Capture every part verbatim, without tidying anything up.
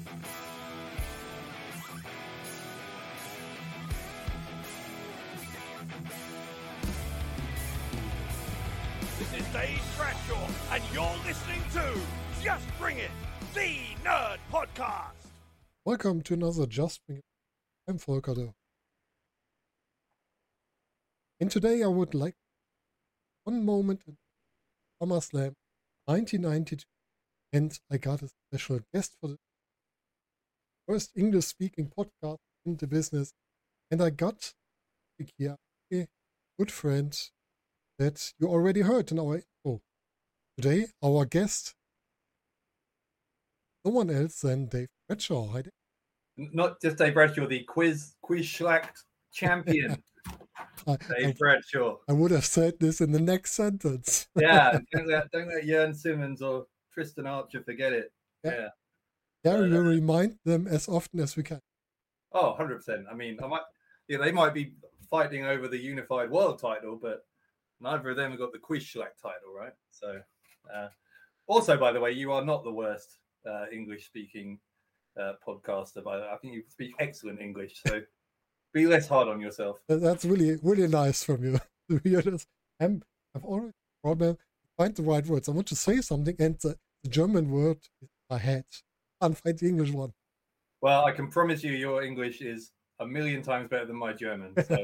This is Dave Bradshaw, and you're listening to Just Bring It, the Nerd Podcast. Welcome to another Just Bring It. I'm Volker Dörr. And today I would like one moment in SummerSlam nineteen ninety-two, and I got a special guest for the first English-speaking podcast in the business, and I got here a good friend that you already heard in our intro. Today, our guest, no one else than Dave Bradshaw. Hi, Dave. Not just Dave Bradshaw, the quiz quiz schlacht champion. I, Dave I, Bradshaw. I would have said this in the next sentence. Yeah, don't let, don't let Jörn Simmons or Tristan Archer forget it. Yeah. Yeah. Yeah, we Uh, will remind them as often as we can. Oh, one hundred percent. I mean, I might, yeah, they might be fighting over the unified world title, but neither of them have got the quiz schlacht title, right? So, uh, also, by the way, you are not the worst uh, English-speaking uh, podcaster. By the way. I think you speak excellent English, so be less hard on yourself. That- That's really, really nice from you. To be honest, I'm, I've always problem to find the right words. I want to say something, and the, the German word is in my head. I can't find the English one. Well, I can promise you, your English is a million times better than my German. So,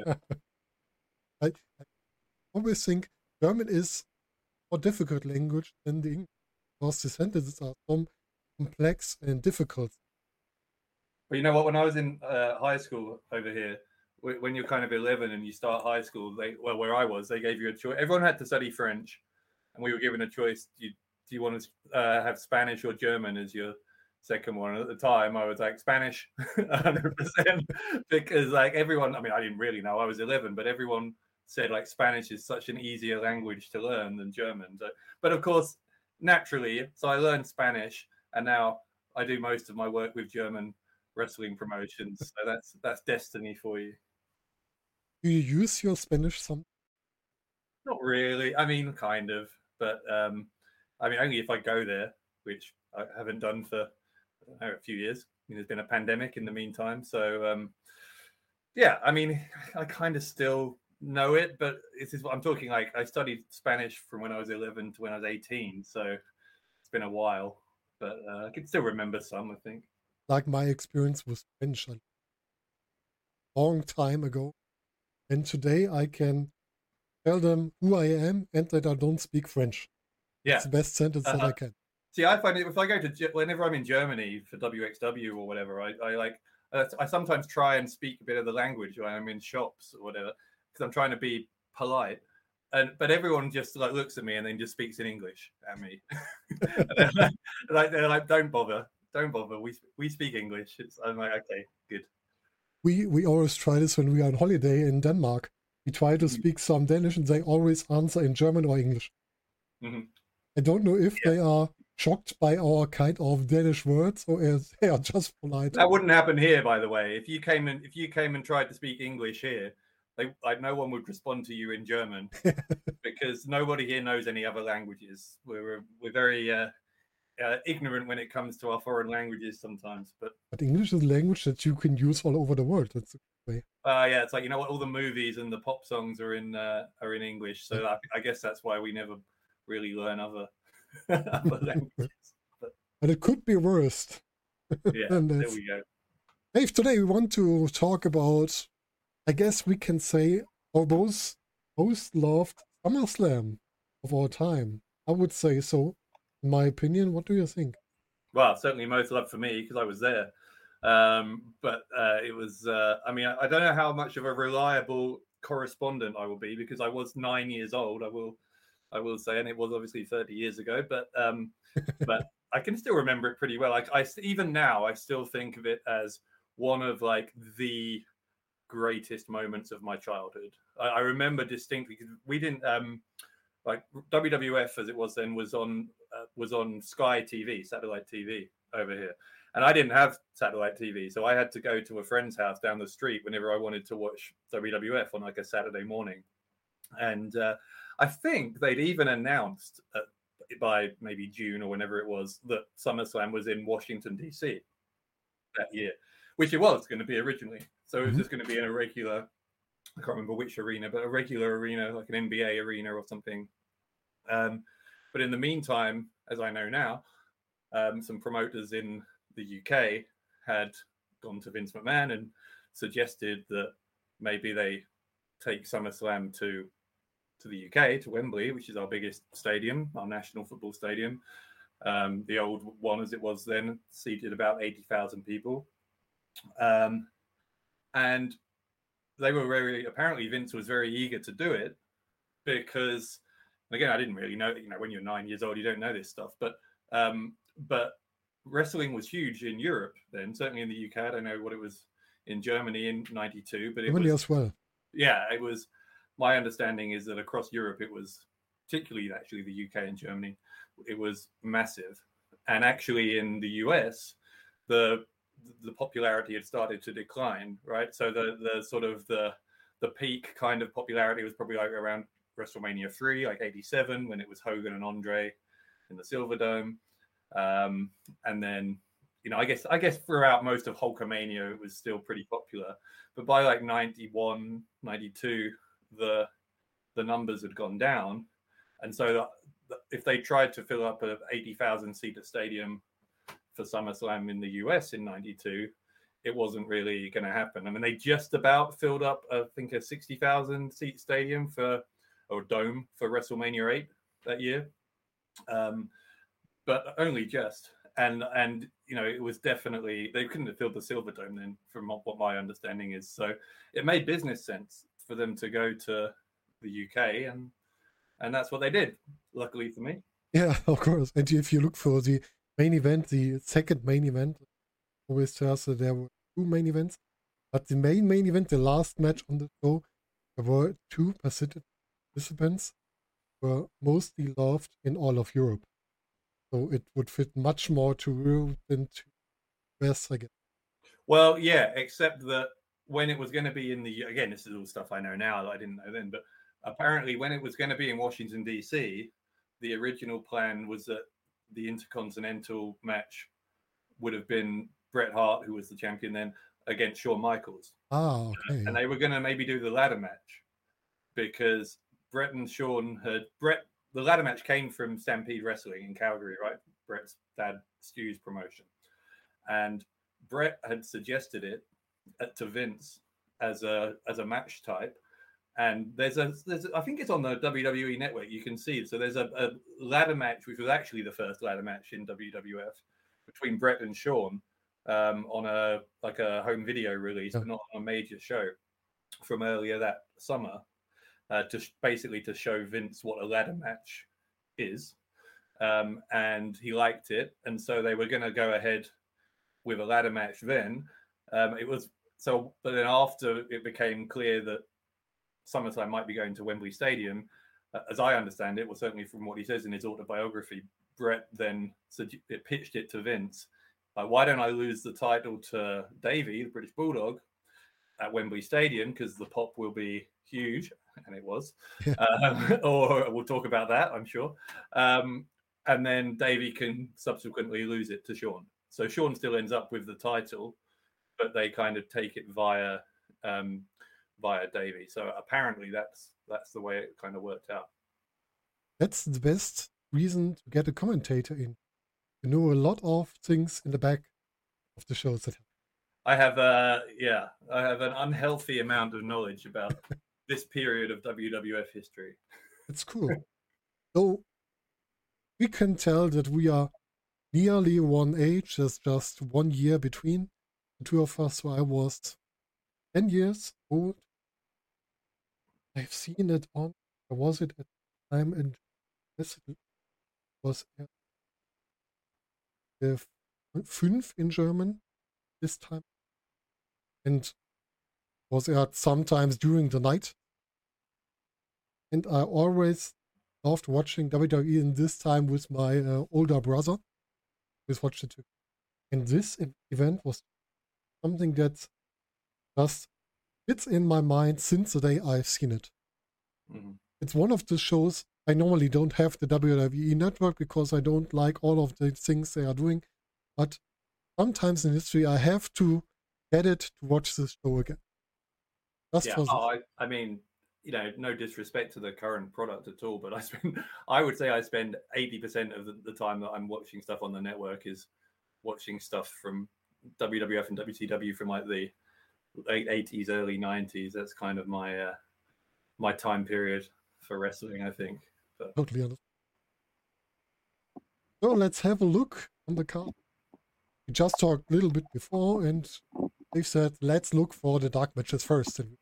I, I always think German is more difficult language than the English, because the sentences are so complex and difficult. but you know what? When I was in uh, high school over here, wh- when you're kind of eleven and you start high school, they well, where I was, they gave you a choice. Everyone had to study French, and we were given a choice. Do you, do you want to uh, have Spanish or German as your second one? And at the time, I was like Spanish, one hundred percent, because like everyone. I mean, I didn't really know. I was eleven, but everyone said like Spanish is such an easier language to learn than German. So, but of course, naturally, so I learned Spanish, and now I do most of my work with German wrestling promotions. So that's that's destiny for you. Do you use your Spanish some? Not really. I mean, kind of, but um, I mean, only if I go there, which I haven't done for I don't know, a few years. I mean, there's been a pandemic in the meantime, so um, yeah. I mean, I kind of still know it, but this is what I'm talking. Like, I studied Spanish from when I was eleven to when I was eighteen, so it's been a while, but uh, I can still remember some. I think. Like my experience with French a long time ago. And today I can tell them who I am and that I don't speak French. Yeah. It's the best sentence that Uh-huh. I can. See, I find it if I go to Ge- whenever I'm in Germany for W X W or whatever, I, I like uh, I sometimes try and speak a bit of the language when I'm in shops or whatever because I'm trying to be polite. And but everyone just like looks at me and then just speaks in English at me. And they're like they're like, don't bother, don't bother. We we speak English. It's, I'm like, okay, good. We we always try this when we are on holiday in Denmark. We try to Mhm. speak some Danish and they always answer in German or English. Mhm. I don't know if Yeah. they are shocked by our kind of Danish words or if they are just polite. That wouldn't happen here, by the way. If you came and if you came and tried to speak English here, they like no one would respond to you in German because nobody here knows any other languages. We're we're very uh, uh, ignorant when it comes to our foreign languages sometimes. But But English is a language that you can use all over the world. That's uh, yeah, it's like you know what, all the movies and the pop songs are in uh, are in English. So I, I guess that's why we never really learn other other languages. but it could be worse. Yeah, And there that's- we go. Dave, today we want to talk about, I guess we can say, our most, most loved SummerSlam of all time. I would say so, in my opinion. What do you think? Well, certainly most love for me because I was there. Um, but uh, it was, uh, I mean, I, I don't know how much of a reliable correspondent I will be because I was nine years old. I will, I will say, and it was obviously thirty years ago. But, um, but I can still remember it pretty well. Like I, even now, I still think of it as one of like the greatest moments of my childhood. I, I remember distinctly because we didn't. Um, like W W F as it was then was on uh, was on Sky T V, satellite T V over here, and I didn't have satellite T V, so I had to go to a friend's house down the street whenever I wanted to watch W W F on like a Saturday morning. And uh, I think they'd even announced uh, by maybe June or whenever it was that SummerSlam was in Washington D C. that year, which it was going to be originally. So it was Mhm. just going to be in a regular, I can't remember which arena, but a regular arena, like an N B A arena or something. Um, but in the meantime, as I know now, um, some promoters in the U K had gone to Vince McMahon and suggested that maybe they take SummerSlam to to the U K, to Wembley, which is our biggest stadium, our national football stadium. Um, the old one, as it was then, seated about eighty thousand people. Um, and they were very, apparently Vince was very eager to do it because, again, I didn't really know, you know, when you're nine years old, you don't know this stuff, but um, but wrestling was huge in Europe then, certainly in the U K. I don't know what it was in Germany in ninety-two, but it Germany was, as well. yeah, it was, my understanding is that across Europe, it was, particularly actually the U K and Germany, it was massive. And actually in the U S, the the popularity had started to decline, right? So the the sort of the the peak kind of popularity was probably like around WrestleMania three, like eighty-seven, when it was Hogan and Andre in the Silverdome. Um, and then, you know, I guess I guess throughout most of Hulkamania, it was still pretty popular. But by like ninety-one, ninety-two, the the numbers had gone down. And so if they tried to fill up a eighty thousand seater stadium for SummerSlam in the U S in ninety-two, it wasn't really going to happen. I mean, they just about filled up, I think, a sixty thousand seat stadium for, or dome for WrestleMania eight that year. Um, but only just. And, and, you know, it was definitely, they couldn't have filled the Silverdome then, from what my understanding is. So it made business sense for them to go to the U K, and and that's what they did, luckily for me. Yeah, of course. And if you look for the main event, the second main event, always tells that there were two main events, but the main main event, the last match on the show, there were two participants were mostly loved in all of Europe. So it would fit much more to Europe than to U S, I guess. Well, yeah, except that when it was going to be in the, again, this is all stuff I know now that I didn't know then, but apparently when it was going to be in Washington, D C, the original plan was that the Intercontinental match would have been Bret Hart, who was the champion then, against Shawn Michaels. Ah, okay. And they were going to maybe do the ladder match because Bret and Shawn had, Bret, the ladder match came from Stampede Wrestling in Calgary, right? Bret's dad, Stu's promotion. And Bret had suggested it to Vince as a as a match type. And there's a, there's a, I think it's on the W W E network, you can see it. So there's a, a ladder match, which was actually the first ladder match in W W F between Bret and Shawn um, on a, like a home video release, Yeah. but not on a major show from earlier that summer, uh, to sh- basically to show Vince what a ladder match is. Um, and he liked it. And so they were going to go ahead with a ladder match then. Um, it was so, but then after it became clear that SummerSlam might be going to Wembley Stadium, uh, as I understand it, well, certainly from what he says in his autobiography, Bret then it pitched it to Vince. Like, why don't I lose the title to Davey, the British Bulldog, at Wembley Stadium, because the pop will be huge, and it was. Yeah. Um, or we'll talk about that, I'm sure. Um, and then Davey can subsequently lose it to Shawn. So Shawn still ends up with the title, but they kind of take it via um, via Davey. So apparently that's that's the way it kind of worked out. That's the best reason to get a commentator in. You know a lot of things in the back of the shows. That I have, uh, yeah, I have an unhealthy amount of knowledge about this period of W W F history. It's cool. So we can tell that we are nearly one age. There's just one year between the two of us. So I was ten years old. I've seen it on, or was it at the time in, yes, it was at the fünf in German this time. And was aired sometimes during the night. And I always loved watching W W E in this time with my uh, older brother. We watched it too. And this event was something that just fits in my mind since the day I've seen it. Mm-hmm. It's one of the shows I normally don't have the W W E network because I don't like all of the things they are doing. But sometimes in history I have to get it to watch this show again. Just Yeah, for oh, I, I mean, you know, no disrespect to the current product at all, but I spend, I would say I spend eighty percent of the, the time that I'm watching stuff on the network is watching stuff from W W F and W C W from like the late eighties, early nineties. That's kind of my uh, my time period for wrestling, I think. But totally understand. So let's have a look on the card. We just talked a little bit before, and they've said let's look for the dark matches first. And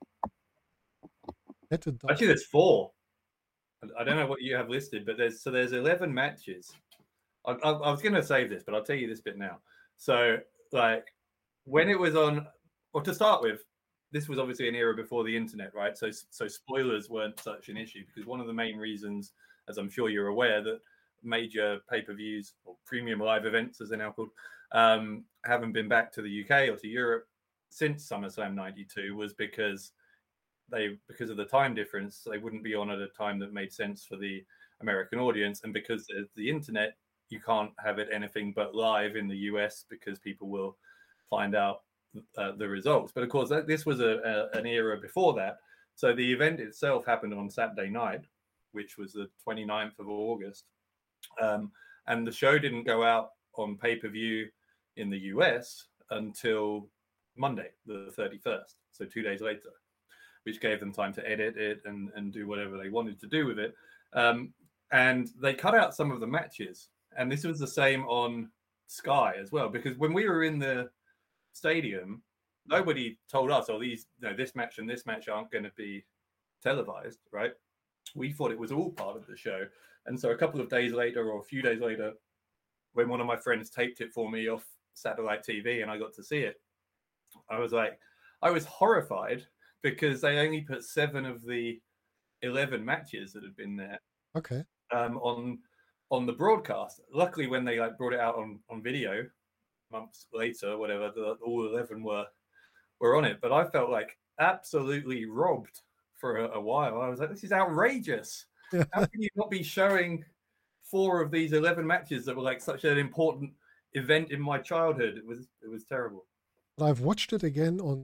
get a dark actually, there's four. I don't know what you have listed, but there's so there's eleven matches. I, I, I was going to save this, but I'll tell you this bit now. So, like, when it was on, well, to start with, this was obviously an era before the internet, right? So, so spoilers weren't such an issue because one of the main reasons, as I'm sure you're aware, that major pay-per-views or premium live events, as they're now called, um, haven't been back to the U K or to Europe since SummerSlam ninety-two was because they, because of the time difference, they wouldn't be on at a time that made sense for the American audience, and because there's the internet, you can't have it anything but live in the U S because people will find out uh, the results. But of course, that, this was a, a, an era before that. So the event itself happened on Saturday night, which was the twenty-ninth of August. Um, and the show didn't go out on pay-per-view in the U S until Monday, the thirty-first. So two days later, which gave them time to edit it and, and do whatever they wanted to do with it. Um, and they cut out some of the matches. And this was the same on Sky as well, because when we were in the stadium, nobody told us, oh, these, you know, this match and this match aren't going to be televised, right? We thought it was all part of the show. And so a couple of days later or a few days later, when one of my friends taped it for me off satellite T V and I got to see it, I was like, I was horrified because they only put seven of the eleven matches that had been there Okay. um, on on the broadcast. Luckily, when they like brought it out on, on video months later, or whatever, the, all eleven were were on it. But I felt like absolutely robbed for a, a while. I was like, this is outrageous. Yeah. How can you not be showing four of these eleven matches that were like such an important event in my childhood? It was it was terrible. But I've watched it again on.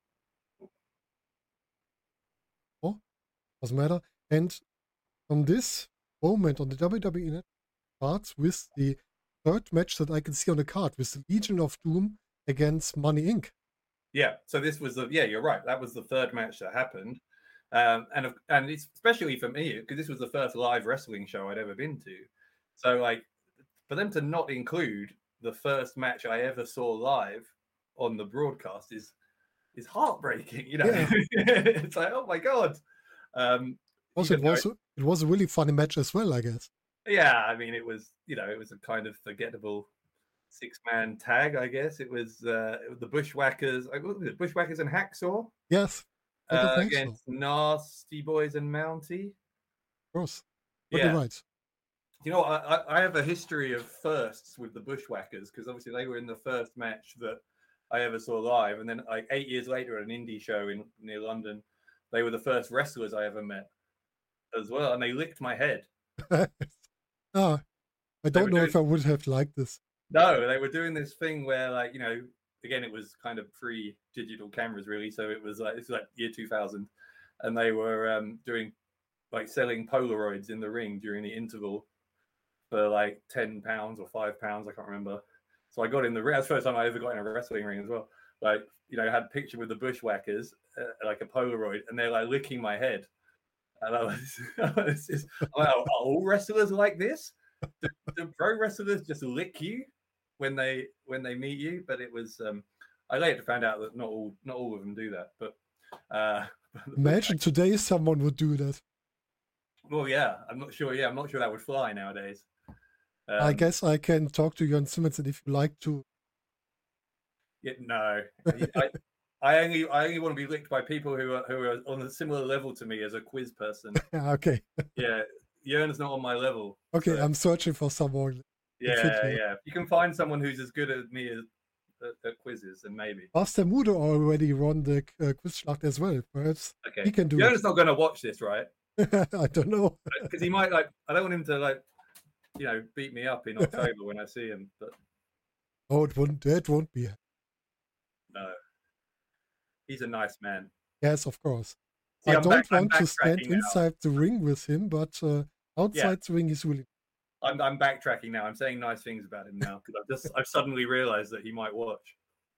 Oh, doesn't matter. And on this moment on the W W E net starts with the third match that I can see on the card with the Legion of Doom against Money Incorporated. Yeah, so this was the yeah, you're right. That was the third match that happened, um, and and it's especially for me because this was the first live wrestling show I'd ever been to. So like, for them to not include the first match I ever saw live on the broadcast is is heartbreaking. You know, Yeah. it's like, oh my god. Um, Also, it even though was it was a really funny match as well, I guess. yeah, I mean, it was, you know, it was a kind of forgettable six-man tag, I guess. It was, uh, it was the Bushwhackers, uh, what was it, Bushwhackers and Hacksaw Yes, I don't uh, think so. against Nasty Boys and Mountie. Of course. But Yeah. you're right. You know, I, I- I have a history of firsts with the Bushwhackers because obviously they were in the first match that I ever saw live. And then like eight years later at an indie show in near London, they were the first wrestlers I ever met as well. And they licked my head. Ah, I They don't were know doing- if I would have liked this. No, they were doing this thing where, like, you know, again, it was kind of pre-digital cameras, really. So it was like it's like year two thousand, and they were um, doing like selling Polaroids in the ring during the interval for like ten pounds or five pounds, I can't remember. So I got in the ring. That's the first time I ever got in a wrestling ring as well. Like, you know, I had a picture with the Bushwhackers, uh, like a Polaroid, and they're like licking my head. And I was, I was just, I'm like, are all wrestlers like this? Do, do pro wrestlers just lick you when they when they meet you? But it was, um, I later found out that not all not all of them do that. But uh, Imagine today someone would do that. well, yeah, I'm not sure. Yeah, I'm not sure that would fly nowadays. Um, I guess I can talk to Jörn Simmons, and if you like to. Yeah, no, I, I only I only want to be licked by people who are who are on a similar level to me as a quiz person. Okay. Yeah, Jörn's not on my level. Okay, so- I'm searching for someone. Yeah, fit you. yeah. You can find someone who's as good as me as at, at quizzes, and maybe. Master Mudo already won the uh, Quizschlacht as well. Perhaps Okay, he can do Jörn's not going to watch this, right? it. I don't know. Because he might like. I don't want him to like, you know, beat me up in October when I see him. But Oh, it won't. That won't be. No, he's a nice man. Yes, of course. See, I I'm don't back, I'm want to stand backtracking now. inside the ring with him, but uh, outside Yeah. the ring is really. I'm, I'm backtracking now. I'm saying nice things about him now because I've just I've suddenly realized that he might watch.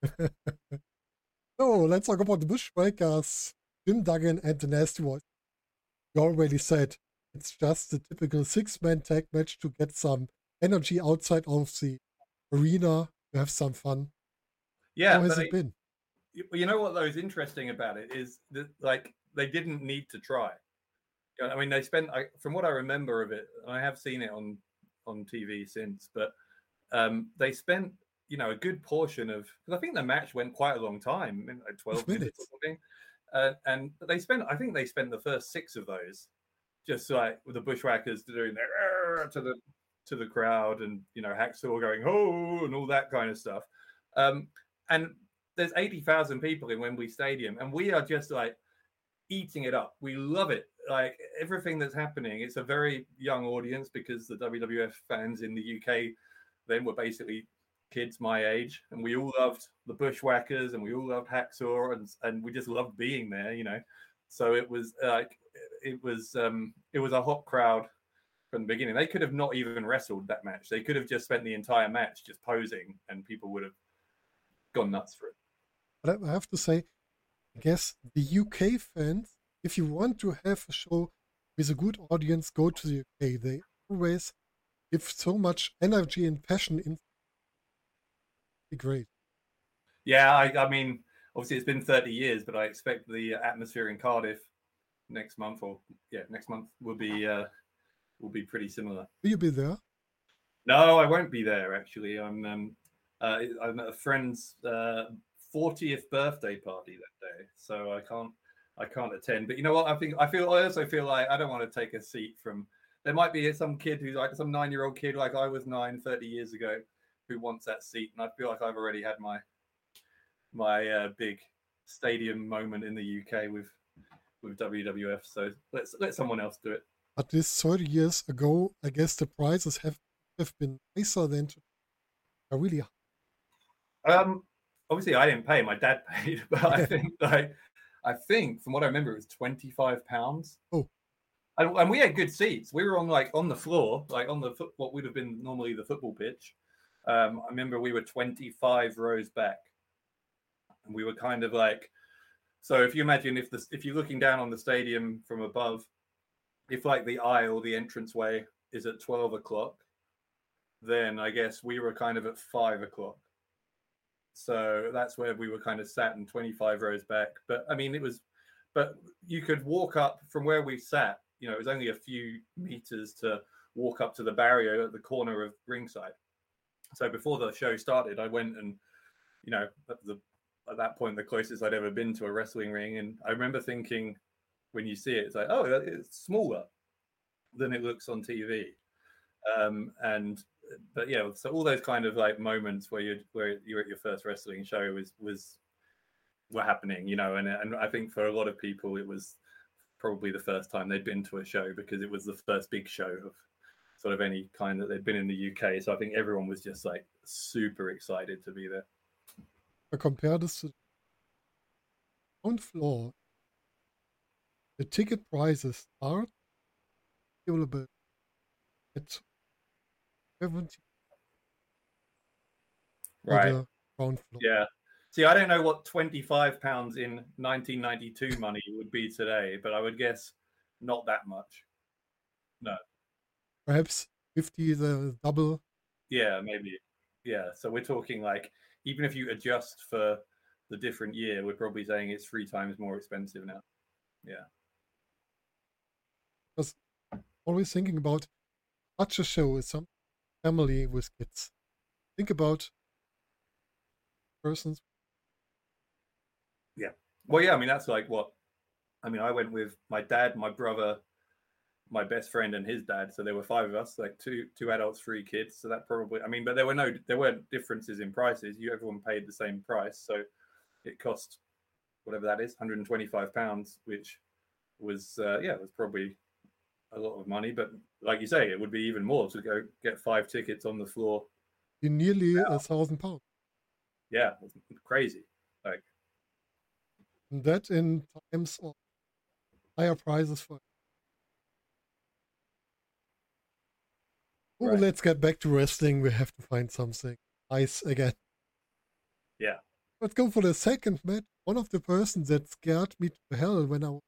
So let's talk about the Bushwhackers, Jim Duggan and the Nasty Boys. You already said it's just the typical six-man tag match to get some energy outside of the arena, to have some fun. Yeah, How has but it been? You you know what though is interesting about it is that like they didn't need to try. You know, I mean, they spent I, from what I remember of it, and I have seen it on on T V since, but um, they spent you know a good portion of because I think the match went quite a long time, like twelve minutes. minutes or something, uh, and they spent I think they spent the first six of those just like with the Bushwhackers doing their to the to the crowd and you know Hacksaw going oh and all that kind of stuff, um, and there's eighty thousand people in Wembley Stadium, and we are just like eating it up. We love it. Like everything that's happening, it's a very young audience because the W W F fans in the U K then were basically kids my age, and we all loved the Bushwhackers and we all loved Hacksaw, and and we just loved being there, you know. So it was like it was um it was a hot crowd from the beginning. They could have not even wrestled that match. They could have just spent the entire match just posing, and people would have gone nuts for it. But I have to say, I guess the U K fans, if you want to have a show with a good audience, go to the U K. They always give so much energy and passion in. Be great. Yeah, I, I mean, obviously it's been thirty years, but I expect the atmosphere in Cardiff next month, or yeah, next month will be uh, will be pretty similar. Will you be there? No, I won't be there. Actually, I'm um, uh, I'm at a friend's uh, fortieth birthday party that day, so I can't I can't attend. But you know what? I think I feel I also feel like I don't want to take a seat from. There might be some kid who's like some nine-year-old kid like I was nine, thirty years ago, who wants that seat, and I feel like I've already had my my uh, big stadium moment in the U K with with W W F. So let's let someone else do it. But this thirty years ago, I guess the prices have have been nicer than to, are really. Um, obviously I didn't pay; my dad paid, but I think like I think from what I remember, it was twenty-five pounds. Oh, and, and we had good seats. We were on like on the floor, like on the foot, what would have been normally the football pitch. Um, I remember we were twenty-five rows back, and we were kind of like. So if you imagine if the if you're looking down on the stadium from above, if like the aisle, the entranceway is at twelve o'clock, then I guess we were kind of at five o'clock. So that's where we were kind of sat in twenty-five rows back. But I mean, it was, but you could walk up from where we sat, you know, it was only a few meters to walk up to the barrier at the corner of ringside. So before the show started, I went and, you know, at, the, at that point, the closest I'd ever been to a wrestling ring. And I remember thinking, when you see it, it's like, oh, it's smaller than it looks on T V. Um, and but yeah, so all those kind of like moments where you where you're at your first wrestling show was was were happening, you know, and and I think for a lot of people it was probably the first time they'd been to a show because it was the first big show of sort of any kind that they'd been in the U K. So I think everyone was just like super excited to be there. I compare this to the ground floor. The ticket prices are available at seventy. Right. The ground floor. Yeah. See, I don't know what twenty-five pounds in nineteen ninety-two money would be today, but I would guess not that much. No. Perhaps fifty, the double. Yeah, maybe. Yeah. So we're talking like, even if you adjust for the different year, we're probably saying it's three times more expensive now. Yeah. Because always thinking about such a show is some family with kids. Think about persons. Yeah. Well, yeah, I mean, that's like what, I mean, I went with my dad, my brother, my best friend and his dad. So there were five of us, like two, two adults, three kids. So that probably, I mean, but there were no, there weren't differences in prices. You, everyone paid the same price. So it cost whatever that is, one hundred twenty-five pounds, which was, uh, yeah, it was probably a lot of money. But like you say, it would be even more to go get five tickets on the floor in nearly Wow. a thousand pounds. Yeah, it's crazy. Like, And that in times of higher prices for. Oh, Right. let's get back to wrestling. We have to find something nice again. yeah. Let's go for the second match. One of the persons that scared me to hell when I was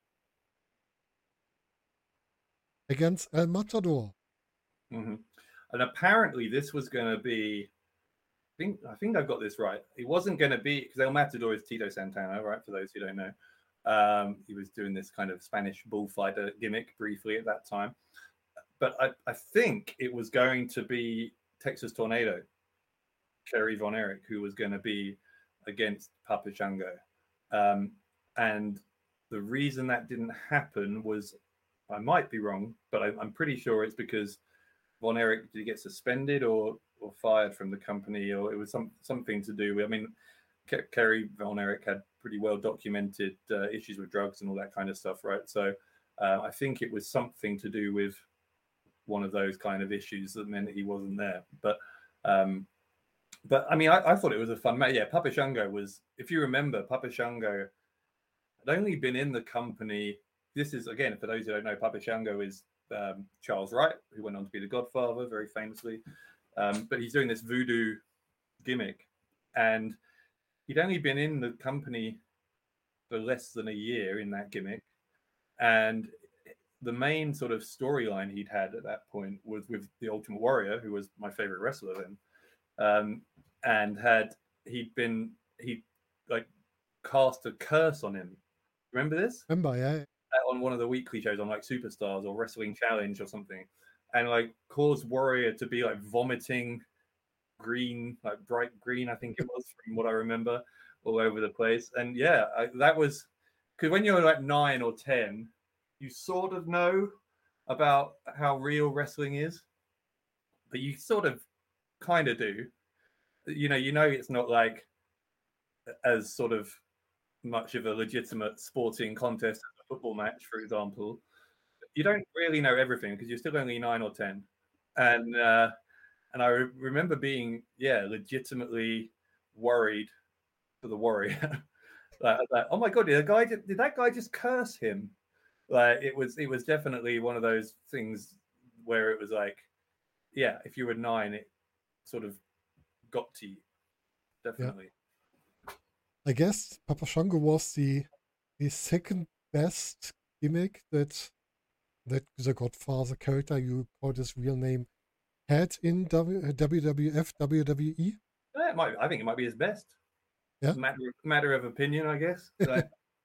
against El Matador. hmm And apparently, this was going to be. I think I think I've got this right. It wasn't going to be because El Matador is Tito Santana, right? For those who don't know, um, he was doing this kind of Spanish bullfighter gimmick briefly at that time. But I, I think it was going to be Texas Tornado, Kerry Von Erich, who was going to be against Papa Shango. Um, and the reason that didn't happen was, I might be wrong, but I, I'm pretty sure it's because Von Erich, did he get suspended or or fired from the company, or it was some something to do with, I mean, Ke- Kerry Von Erich had pretty well documented uh, issues with drugs and all that kind of stuff, right? So uh, I think it was something to do with one of those kind of issues that meant he wasn't there. But um, but I mean, I, I thought it was a fun match. Yeah, Papa Shango was, if you remember, Papa Shango had only been in the company. This is, again, for those who don't know, Papa Shango is um, Charles Wright, who went on to be the Godfather very famously. Um, but he's doing this voodoo gimmick, and he'd only been in the company for less than a year in that gimmick. And the main sort of storyline he'd had at that point was with the Ultimate Warrior, who was my favorite wrestler then. Um, and had he'd been he like cast a curse on him. Remember this? Remember, yeah. On one of the weekly shows on like Superstars or Wrestling Challenge or something, and like caused Warrior to be like vomiting green, like bright green, I think it was, from what I remember, all over the place. And yeah, I, that was because when you're like nine or ten, you sort of know about how real wrestling is, but you sort of kind of do. You know, you know, it's not like as sort of much of a legitimate sporting contest as a football match, for example. You don't really know everything because you're still only nine or ten, and uh, and I re- remember being yeah legitimately worried for the Warrior. like, like, oh my god, did the guy did that guy just curse him? Like it was it was definitely one of those things where it was like, yeah, if you were nine, it sort of got to you, definitely. Yeah. I guess Papa Shango was the the second best gimmick that that the Godfather character, you call his real name, had in w, W W F, W W E. Yeah, it might, I think it might be his best. Yeah. Matter, matter of opinion, I guess. So.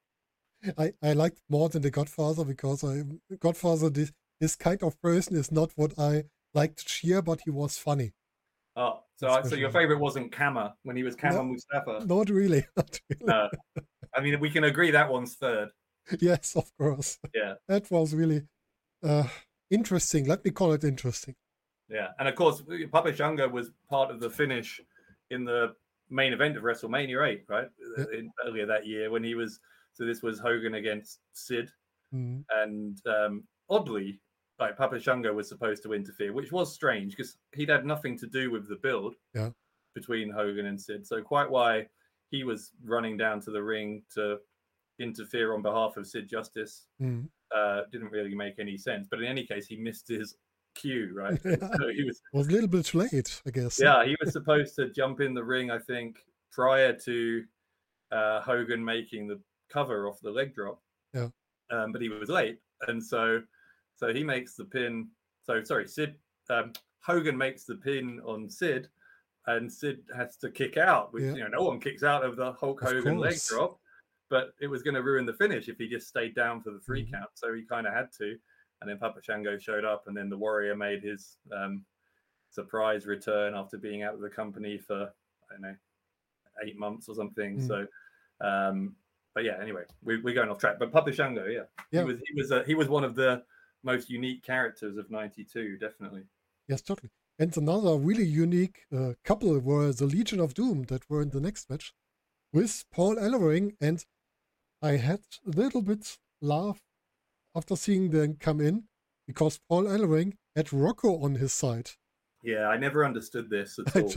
I, I liked more than the Godfather because I Godfather this this kind of person is not what I like to cheer, but he was funny. Oh, so I, so your favorite wasn't Kama when he was Kama no, Mustafa? Not really. Not really. No, I mean we can agree that one's third. Yes, of course. Yeah, that was really uh, interesting. Let me call it interesting. Yeah, and of course, Papa Shango was part of the finish in the main event of WrestleMania eight, right? Yeah. In, earlier that year when he was. So this was Hogan against Sid, mm. and um, oddly, like Papa Shango was supposed to interfere, which was strange because he'd had nothing to do with the build yeah. between Hogan and Sid. So quite why he was running down to the ring to interfere on behalf of Sid Justice mm. uh, didn't really make any sense. But in any case, he missed his cue, right? Yeah. So he was, was a little bit late, I guess. Yeah, he was supposed to jump in the ring, I think, prior to uh, Hogan making the cover off the leg drop. Yeah. Um, but he was late, and so so he makes the pin. So sorry, Sid um, Hogan makes the pin on Sid, and Sid has to kick out. Which Yeah. you know, no one kicks out of the Hulk Of Hogan leg course. drop, but it was going to ruin the finish if he just stayed down for the three Mhm. count. So he kind of had to, and then Papa Shango showed up, and then the Warrior made his um, surprise return after being out of the company for I don't know eight months or something. Mm. So. Um, But yeah, anyway, we, we're going off track. But Papa Shango, yeah, Yeah. he was he was uh, he was one of the most unique characters of ninety-two, definitely. Yes, totally. And another really unique uh, couple were the Legion of Doom that were in the next match with Paul Ellering. And I had a little bit laugh after seeing them come in because Paul Ellering had Rocco on his side. Yeah, I never understood this at I, all.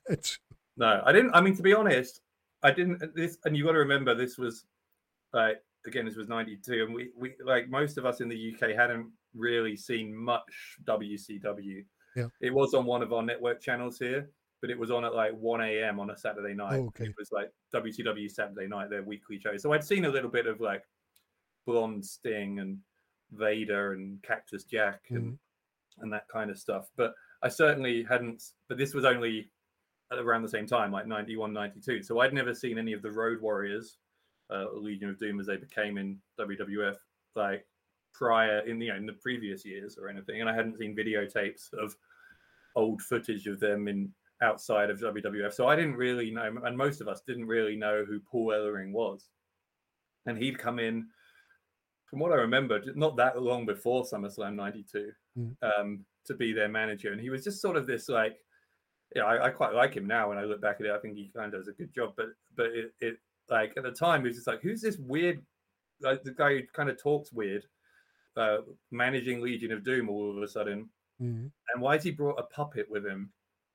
It's, No, I didn't. I mean, to be honest, I didn't. This, and you got to remember, this was like again, this was ninety-two, and we we like most of us in the U K hadn't really seen much W C W. Yeah. It was on one of our network channels here, but it was on at like one a.m. on a Saturday night. Oh, okay. It was like W C W Saturday Night, their weekly show. So I'd seen a little bit of like Blonde Sting and Vader and Cactus Jack and Mhm. and that kind of stuff. But I certainly hadn't. But this was only around the same time, like ninety-one, ninety-two. So I'd never seen any of the Road Warriors, uh, Legion of Doom as they became in W W F, like prior in the you know, in the previous years or anything. And I hadn't seen videotapes of old footage of them in outside of W W F. So I didn't really know, and most of us didn't really know who Paul Ellering was. And he'd come in, from what I remember, not that long before SummerSlam ninety-two, Mm. um, to be their manager. And he was just sort of this like, yeah, I, I quite like him now. When I look back at it, I think he kind of does a good job. But but it, it like at the time, he was just like, who's this weird, like the guy who kind of talks weird, uh, managing Legion of Doom all of a sudden. Mhm. And why's he brought a puppet with him?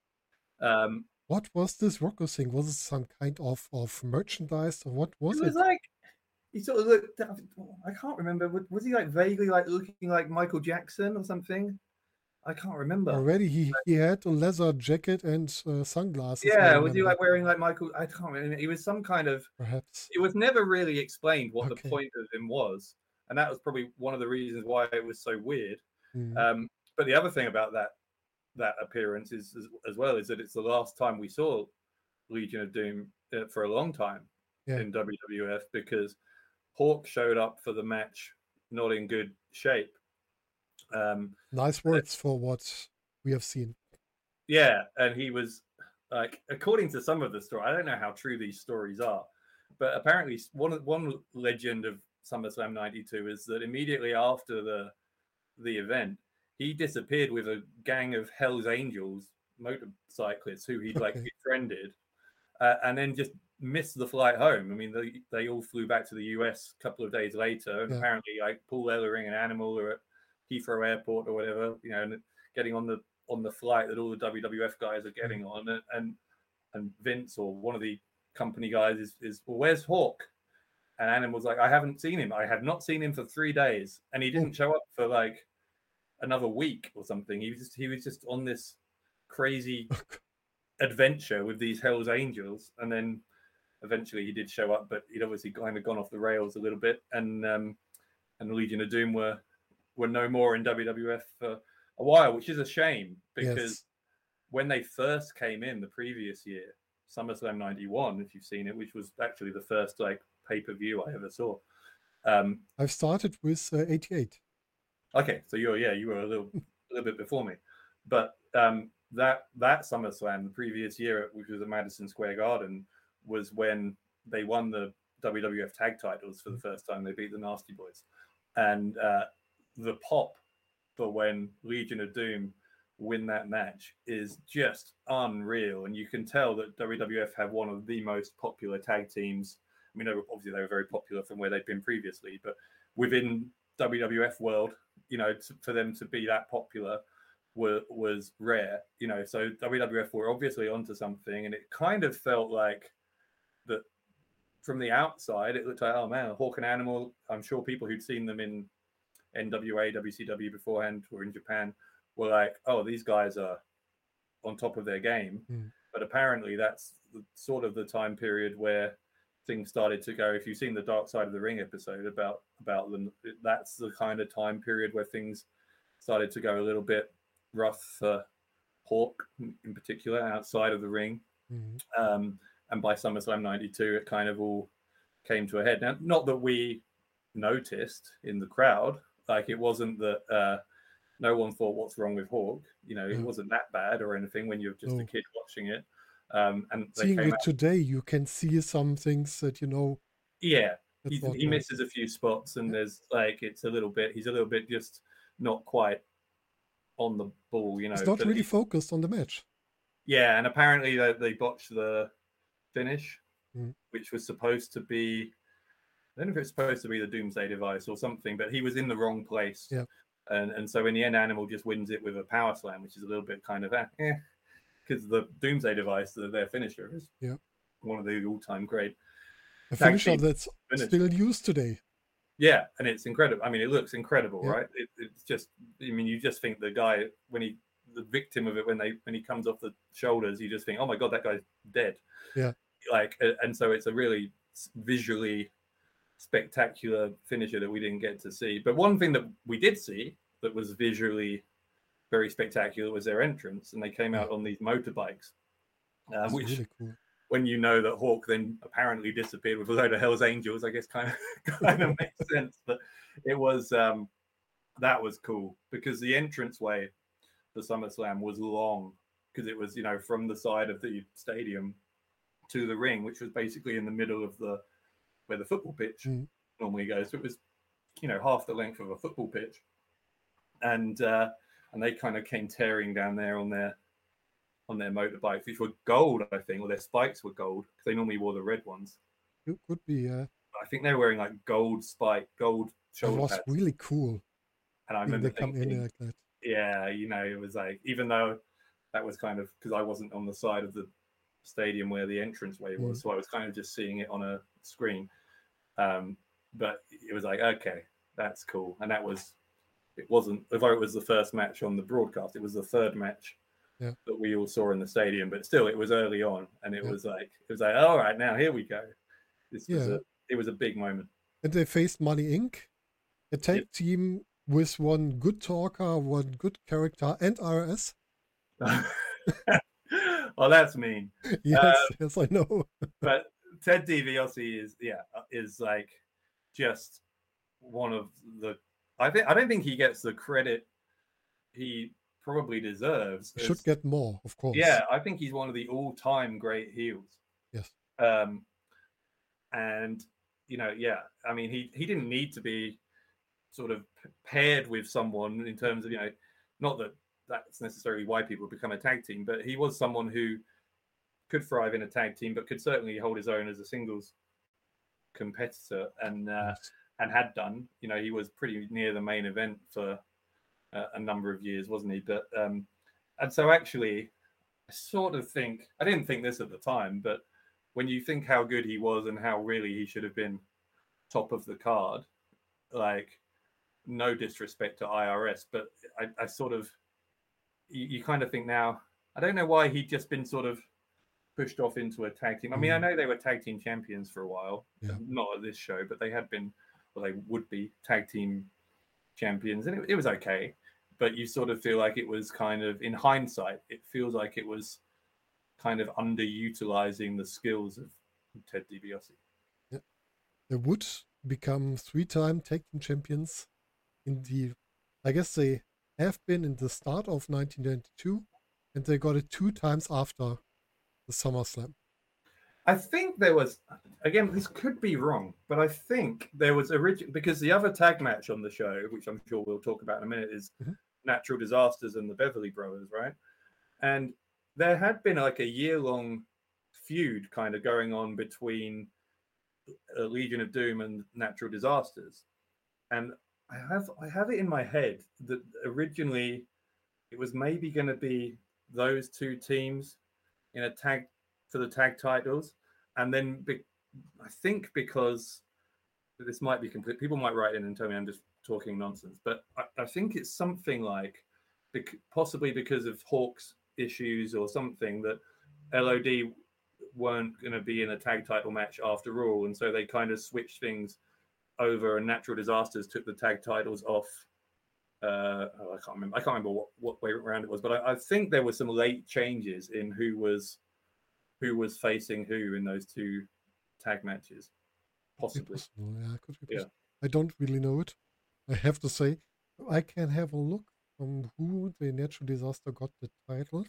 Um, What was this Rocco thing? Was it some kind of, of merchandise or what was it it? was like he sort of looked. I can't remember. Was he like vaguely like looking like Michael Jackson or something? I can't remember. Already he, he had a leather jacket and uh, sunglasses. I Yeah, was he remember. like wearing like Michael? I can't remember. He was some kind of. Perhaps. It was never really explained what Okay. the point of him was, and that was probably one of the reasons why it was so weird. Mhm. Um, but the other thing about that that appearance is as, as well is that it's the last time we saw Legion of Doom uh, for a long time Yeah. in W W F, because Hawk showed up for the match not in good shape. Um, Nice words for what we have seen. yeah, and he was like, according to some of the story, I don't know how true these stories are, but apparently one one legend of SummerSlam ninety-two is that immediately after the the event, he disappeared with a gang of Hell's Angels motorcyclists who he'd like Okay. befriended, uh, and then just missed the flight home. I mean, they they all flew back to the U S a couple of days later, and Yeah. apparently, like Paul Ellering and Animal are at Heathrow Airport or whatever, you know, and getting on the on the flight that all the W W F guys are getting on, and and, and Vince or one of the company guys is is well, where's Hawk? And Animal's like, I haven't seen him. I have not seen him for three days, and he didn't show up for like another week or something. He was just he was just on this crazy adventure with these Hell's Angels, and then eventually he did show up, but he'd obviously kind of gone off the rails a little bit, and um, and the Legion of Doom were were no more in W W F for a while, which is a shame, because Yes. when they first came in the previous year, SummerSlam ninety-one, if you've seen it, which was actually the first like pay-per-view I ever saw. Um, I've started with uh, eighty-eight. okay, so you're yeah, you were a little a little bit before me, but um, that that SummerSlam the previous year, which was at Madison Square Garden, was when they won the W W F tag titles for the first time. They beat the Nasty Boys, and uh, the pop for when Legion of Doom win that match is just unreal, and you can tell that W W F have one of the most popular tag teams. I mean, they were, obviously they were very popular from where they'd been previously, but within W W F world, you know, to, for them to be that popular were, was rare, you know. So W W F were obviously onto something, and it kind of felt like that from the outside. It looked like, oh man, Hawk and Animal. I'm sure people who'd seen them in N W A, W C W beforehand or in Japan were like, oh, these guys are on top of their game. Mm. But apparently that's the, sort of the time period where things started to go. If you've seen the Dark Side of the Ring episode about about them, that's the kind of time period where things started to go a little bit rough for Hawk in particular outside of the ring. Mm-hmm. Um, and by SummerSlam ninety-two, it kind of all came to a head. Now, not that we noticed in the crowd, like it wasn't that uh, no one thought, what's wrong with Hawk? You know, it Mm. wasn't that bad or anything when you're just No. a kid watching it. Um, and they Seeing came it out, today, you can see some things that, you know, yeah, that's he, not he right. misses a few spots, and Yeah. there's like it's a little bit, he's a little bit just not quite on the ball, you know. It's not but really he- focused on the match. Yeah, and apparently they, they botched the finish, Mm. which was supposed to be, I don't know if it's supposed to be the Doomsday Device or something, but he was in the wrong place. Yeah. And and so in the end, Animal just wins it with a power slam, which is a little bit kind of eh, because because the Doomsday Device, the, their finisher, is Yeah. one of the all-time great. A tag finisher team that's finisher. still used today. Yeah, and it's incredible. I mean, it looks incredible, Yeah. right? It, it's just, I mean, you just think the guy when he, the victim of it, when they when he comes off the shoulders, you just think, oh my god, that guy's dead. Yeah. Like, and so it's a really visually spectacular finisher that we didn't get to see. But one thing that we did see that was visually very spectacular was their entrance, and they came out on these motorbikes, uh, That's which. really cool. When you know that Hawk then apparently disappeared with a load of Hell's Angels, I guess kind of kind of makes sense. But it was um, that was cool because the entranceway for SummerSlam was long because it was, you know, from the side of the stadium to the ring, which was basically in the middle of the where the football pitch Mm. normally goes. So it was, you know, half the length of a football pitch, and uh, and they kind of came tearing down there on their. on their motorbikes, which were gold, I think, or their spikes were gold because they normally wore the red ones. It could be, yeah. I think they were wearing like gold spike, gold That shoulder was pads. really cool. And I When remember they come thinking, in like that. yeah, you know, it was like, even though that was kind of because I wasn't on the side of the stadium where the entranceway was, Mm. so I was kind of just seeing it on a screen. Um, but it was like, okay, that's cool. And that was, it wasn't, although it was the first match on the broadcast, it was the third match. Yeah. That we all saw in the stadium, but still, it was early on, and it Yeah. was like it was like, all right, now here we go. This was Yeah. a it was a big moment. And they faced Money Incorporated, a tag team with one good talker, one good character, and R S. Well, that's mean, Yes, Um, yes, I know. but Ted DiBiase is yeah is like just one of the. I think I don't think he gets the credit he probably deserves. Should as- get more, of course. Yeah, I think he's one of the all-time great heels. Yes. Um, and you know, yeah, I mean, he he didn't need to be sort of paired with someone in terms of, you know, not that that's necessarily why people become a tag team, but he was someone who could thrive in a tag team, but could certainly hold his own as a singles competitor, and uh, Yes. and had done. You know, he was pretty near the main event for uh, a number of years, wasn't he? But um, and so actually, I sort of think I didn't think this at the time, but when you think how good he was and how really he should have been top of the card, like, no disrespect to I R S, but I, I sort of you, you kind of think now, I don't know why he'd just been sort of pushed off into a tag team. I mean, I know they were tag team champions for a while, Yeah. not at this show, but they had been, well, they would be tag team champions, and it, it was okay. But you sort of feel like it was kind of, in hindsight, it feels like it was kind of underutilizing the skills of Ted DiBiase. They would become three-time tag team champions in the, I guess they have been in the start of nineteen ninety-two, and they got it two times after the SummerSlam. I think there was, again, this could be wrong, but I think there was original, because the other tag match on the show, which I'm sure we'll talk about in a minute, is Mhm. Natural Disasters and the Beverly Brothers, right? And there had been like a year-long feud kind of going on between uh, Legion of Doom and Natural Disasters. And I have I have it in my head that originally it was maybe going to be those two teams in a tag for the tag titles, and then be, I think because this might be complete, people might write in and tell me I'm just talking nonsense, but I, I think it's something like bec- possibly because of Hawk's issues or something, that L O D weren't going to be in a tag title match after all, and so they kind of switched things over, and Natural Disasters took the tag titles off. Uh, oh, I can't remember. I can't remember what, what way around it was, but I, I think there were some late changes in who was who was facing who in those two tag matches, possibly. Possible, yeah, could be Yeah. possible. I don't really know it. I have to say, I can have a look from who the Natural Disaster got the titles.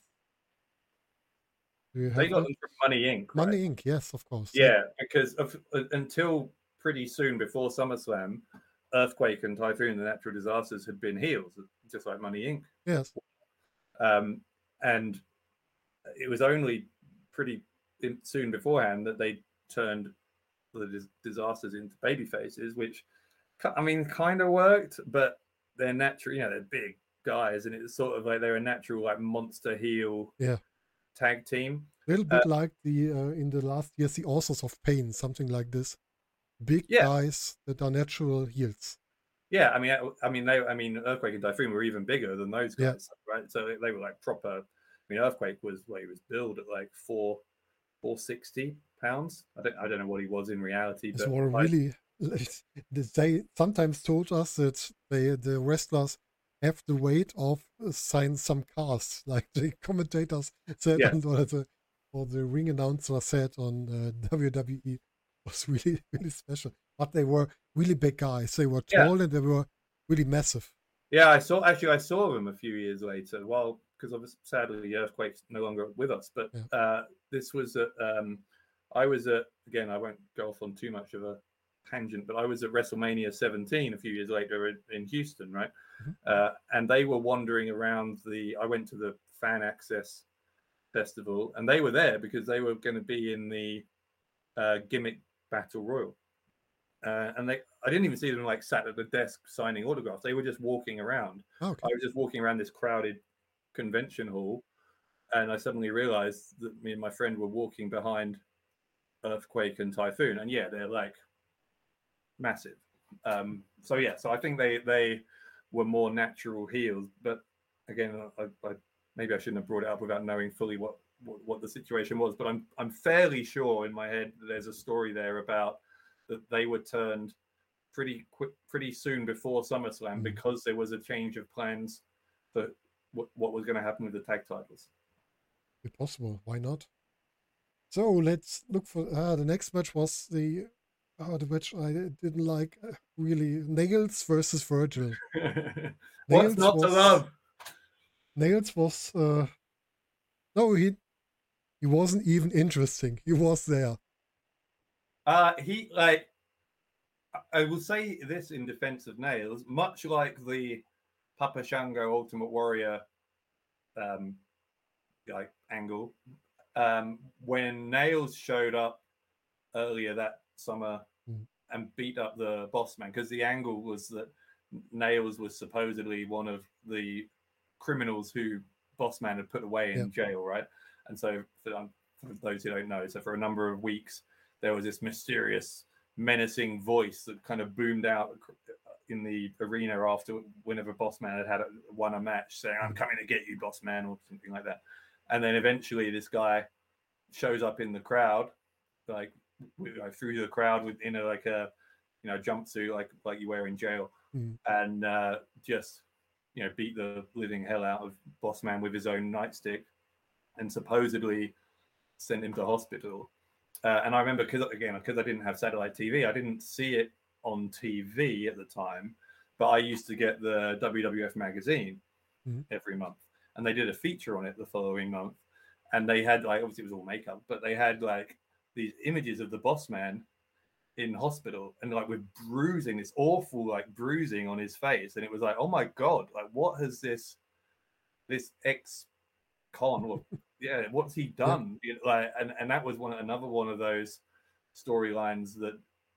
Do you They have got that? them from Money Incorporated. Right? Money Incorporated, yes, of course. Yeah, because of, uh, until pretty soon before SummerSlam, Earthquake and Typhoon, the Natural Disasters, had been heels, just like Money Incorporated. Yes. Um, and it was only pretty in, soon beforehand that they turned the dis- disasters into baby faces, which, I mean, kind of worked, but they're natural, you know, they're big guys, and it's sort of like they're a natural, like, monster heel Yeah. tag team. A little bit Uh, like the uh, in the last years, the Authors of Pain, something like this. Big yeah, guys that are natural heels. yeah. I mean, I, I mean, they, I mean, Earthquake and Typhoon were even bigger than those Yeah. guys, right? So they, they were like proper. I mean, Earthquake was well, he was billed at like four, four sixty pounds. I don't, I don't know what he was in reality, It's but more I, really. They sometimes told us that they the wrestlers have the weight of uh, sign some cars, like the commentators said yes. on or the or the ring announcer said on uh, W W E. Was really really special. But they were really big guys. They were Yeah. tall and they were really massive. Yeah, I saw actually I saw them a few years later. Well, because obviously sadly the Earthquake's no longer with us, but Yeah. uh, this was at um, I was at again I won't go off on too much of a tangent, but I was at WrestleMania seventeen a few years later in, in Houston, right? Mhm. Uh, and they were wandering around the. I went to the Fan Access Festival, and they were there because they were going to be in the uh, Gimmick Battle Royal. Uh, and they, I didn't even see them like sat at the desk signing autographs. They were just walking around. Okay. I was just walking around this crowded convention hall, and I suddenly realized that me and my friend were walking behind Earthquake and Typhoon, and yeah, they're like massive. Um, so yeah, so I think they they were more natural heels. But again, I, I, maybe I shouldn't have brought it up without knowing fully what, what what the situation was. But I'm I'm fairly sure in my head that there's a story there about that they were turned pretty quick, pretty soon before SummerSlam Mhm. because there was a change of plans for what, what was going to happen with the tag titles. If possible, why not? So let's look for uh, the next match was the uh, the match I didn't like uh, really. Nails versus Virgil. What's Nails not to was love? Nails was uh, no he he wasn't even interesting. He was there. Uh, he like I will say this in defense of Nails, much like the Papa Shango Ultimate Warrior um, like angle. Um, when Nails showed up earlier that summer Mm. and beat up the Boss Man, because the angle was that Nails was supposedly one of the criminals who Boss Man had put away in Yeah. jail, right? And so, for, um, for those who don't know, so for a number of weeks, there was this mysterious, menacing voice that kind of boomed out in the arena after whenever Boss Man had had a, won a match, saying, "I'm coming to get you, Boss Man," or something like that. And then eventually, this guy shows up in the crowd, like through the crowd within a like a you know jumpsuit like like you wear in jail, Mm. and uh, just you know beat the living hell out of Boss Man with his own nightstick, and supposedly sent him to hospital. Uh, and I remember because again because I didn't have satellite T V, I didn't see it on T V at the time, but I used to get the W W F magazine Mm. every month, and they did a feature on it the following month, and they had like obviously it was all makeup, but they had like these images of the Boss Man in hospital and like with bruising, this awful like bruising on his face, and it was like, oh my god, like what has this this ex con or yeah what's he done? You know, like and and that was one another one of those storylines that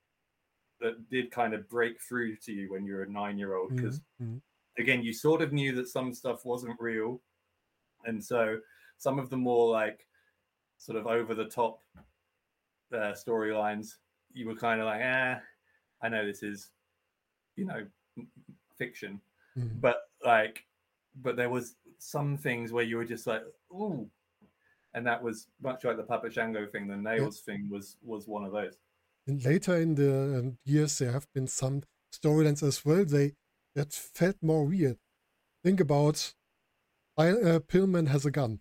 that did kind of break through to you when you're a nine year old, because Mm. again you sort of knew that some stuff wasn't real, and so some of the more like sort of over the top uh, storylines you were kind of like, ah, I know this is, you know, fiction, Mm. but like, but there was some things where you were just like, ooh, and that was much like the Papa Shango thing. The Nails yeah. thing was was one of those. And later in the um, years, there have been some storylines as well. They that felt more weird. Think about, uh, Pillman has a gun.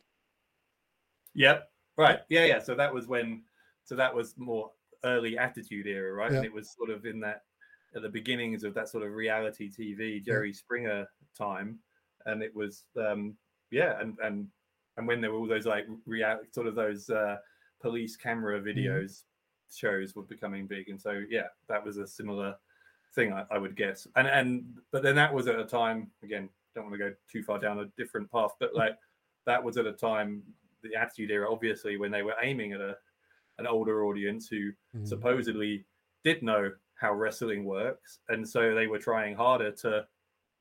Yep. Right. Yeah. Yeah. So that was when. So that was more early Attitude Era, right? Yeah. And it was sort of in that at the beginnings of that sort of reality T V Jerry yeah. Springer time, and it was um yeah, and and and when there were all those like real sort of those uh, police camera videos mm-hmm. shows were becoming big, and so yeah, that was a similar thing, I, I would guess. And and but then that was at a time, again, don't want to go too far down a different path, but like that was at a time, the Attitude Era, obviously, when they were aiming at a an older audience who mm. supposedly did know how wrestling works, and so they were trying harder to,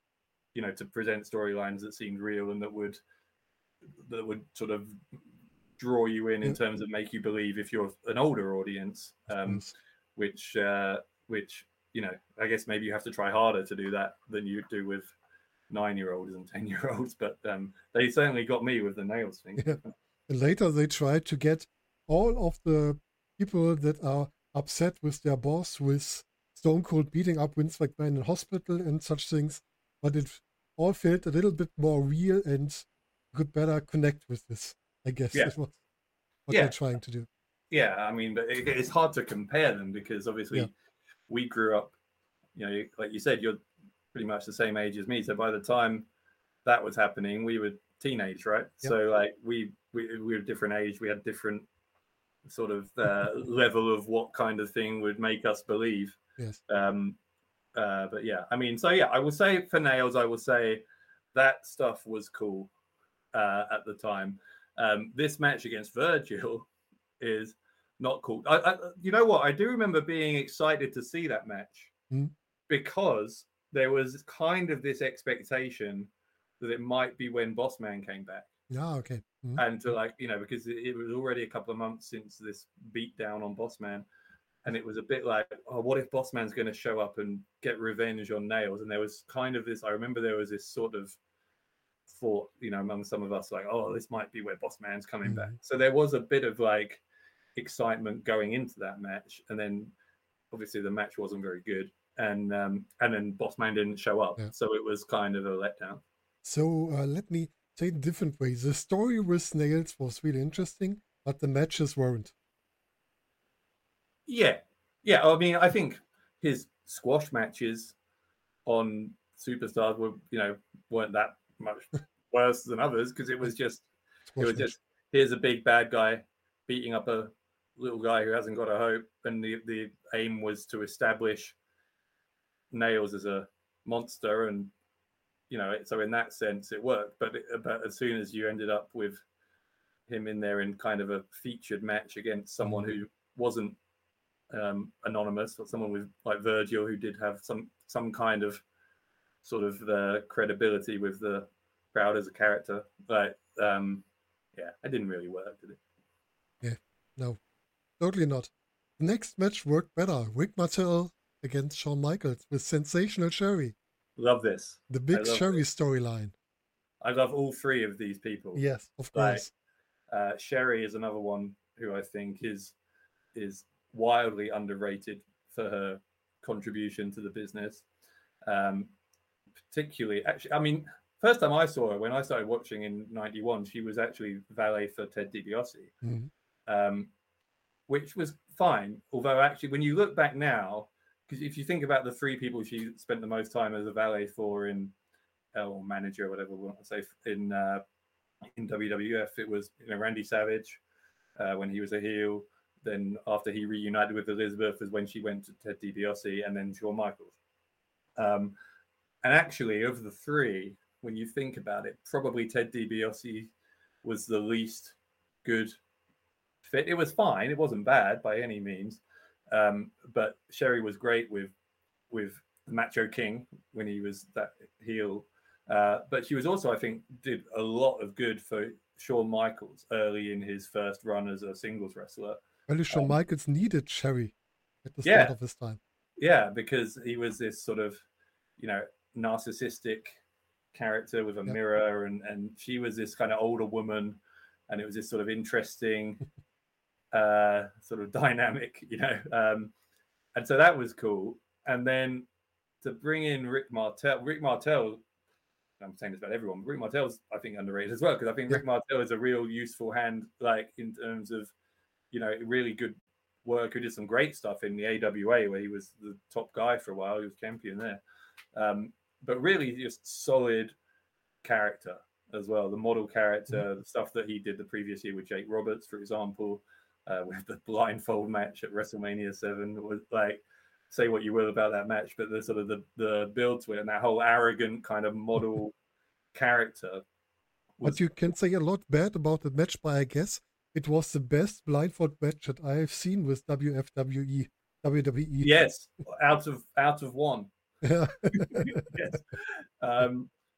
you know, to present storylines that seemed real and that would that would sort of draw you in in Yeah. terms of make you believe if you're an older audience, Of um, course. which uh, which you know, I guess maybe you have to try harder to do that than you do with nine-year-olds and ten-year-olds. But um, they certainly got me with the nails thing. Yeah. And later they tried to get all of the people that are upset with their boss, with Stone Cold beating up Vince McMahon in hospital and such things, but it all felt a little bit more real and could better connect with this. I guess Yeah. it was what Yeah. they're trying to do. Yeah, I mean, but it, it's hard to compare them because obviously Yeah. we grew up, you know, like you said, you're pretty much the same age as me. So by the time that was happening, we were teenage, right? Yep. So like we, we we were different age. We had different sort of uh, level of what kind of thing would make us believe. Yes. Um, uh, but yeah, I mean, so yeah, I will say for nails, I will say that stuff was cool uh, at the time. Um, this match against Virgil is not cool. I, I, you know what? I do remember being excited to see that match Mm. because there was kind of this expectation that it might be when Bossman came back. Yeah, okay. Mm. And to like, you know, because it, it was already a couple of months since this beat down on Bossman. And it was a bit like, oh, what if Bossman's going to show up and get revenge on Nails? And there was kind of this, I remember there was this sort of thought, you know, among some of us, like, oh, this might be where Bossman's coming Mhm. back. So there was a bit of like excitement going into that match. And then obviously the match wasn't very good. And um, and then Bossman didn't show up. Yeah. So it was kind of a letdown. So uh, let me say it a different way. The story with Nails was really interesting, but the matches weren't. Yeah. Yeah. I mean, I think his squash matches on Superstars were, you know, weren't that much worse than others because it was just, Squash it was match. just, here's a big bad guy beating up a little guy who hasn't got a hope. And the, the aim was to establish Nails as a monster. And, you know, so in that sense, it worked. But, it, but as soon as you ended up with him in there in kind of a featured match against someone who wasn't um, anonymous, or someone with like Virgil who did have some some kind of sort of the credibility with the crowd as a character, but um, yeah, it didn't really work, did it? No, totally not. The next match worked better. Rick Martel against Shawn Michaels with Sensational Sherry. Love this. The I big love Sherry this. storyline. I love all three of these people. Yes, of Like, course. Uh, Sherry is another one who I think is is wildly underrated for her contribution to the business. Um, particularly, actually, I mean, first time I saw her when I started watching in ninety-one, she was actually valet for Ted DiBiase, Mhm. um, which was fine. Although, actually, when you look back now, because if you think about the three people she spent the most time as a valet for in, or manager, or whatever we want to say, in uh, in W W F, it was, you know, Randy Savage uh, when he was a heel. Then after he reunited with Elizabeth is when she went to Ted DiBiase, and then Shawn Michaels. Um, and actually, of the three, when you think about it, probably Ted DiBiase was the least good fit. It was fine; it wasn't bad by any means. Um, but Sherry was great with with Macho King when he was that heel. Uh, but she was also, I think, did a lot of good for Shawn Michaels early in his first run as a singles wrestler. Well, Shawn Um, Michaels needed Sherry at the yeah. start of his time. Yeah, because he was this sort of, you know, narcissistic character with a Yep. mirror, and and she was this kind of older woman, and it was this sort of interesting uh sort of dynamic, you know. Um, and so that was cool. And then to bring in Rick Martel, Rick Martel. I'm saying this about everyone, but Rick Martel's, I think, underrated as well, because I think Yeah. Rick Martel is a real useful hand, like in terms of, you know, really good work. Who did some great stuff in the A W A, where he was the top guy for a while. He was champion there, um, but really just solid character as well. The model character, Mm-hmm. the stuff that he did the previous year with Jake Roberts, for example, uh, with the blindfold match at WrestleMania seven, was like, say what you will about that match, but the sort of the, the build to it and that whole arrogant kind of model character. Was, But you can say a lot bad about the match, but I guess it was the best blindfold match that I have seen with W F W E, W W E. yes, out of out of one. Yeah. Yes. Um,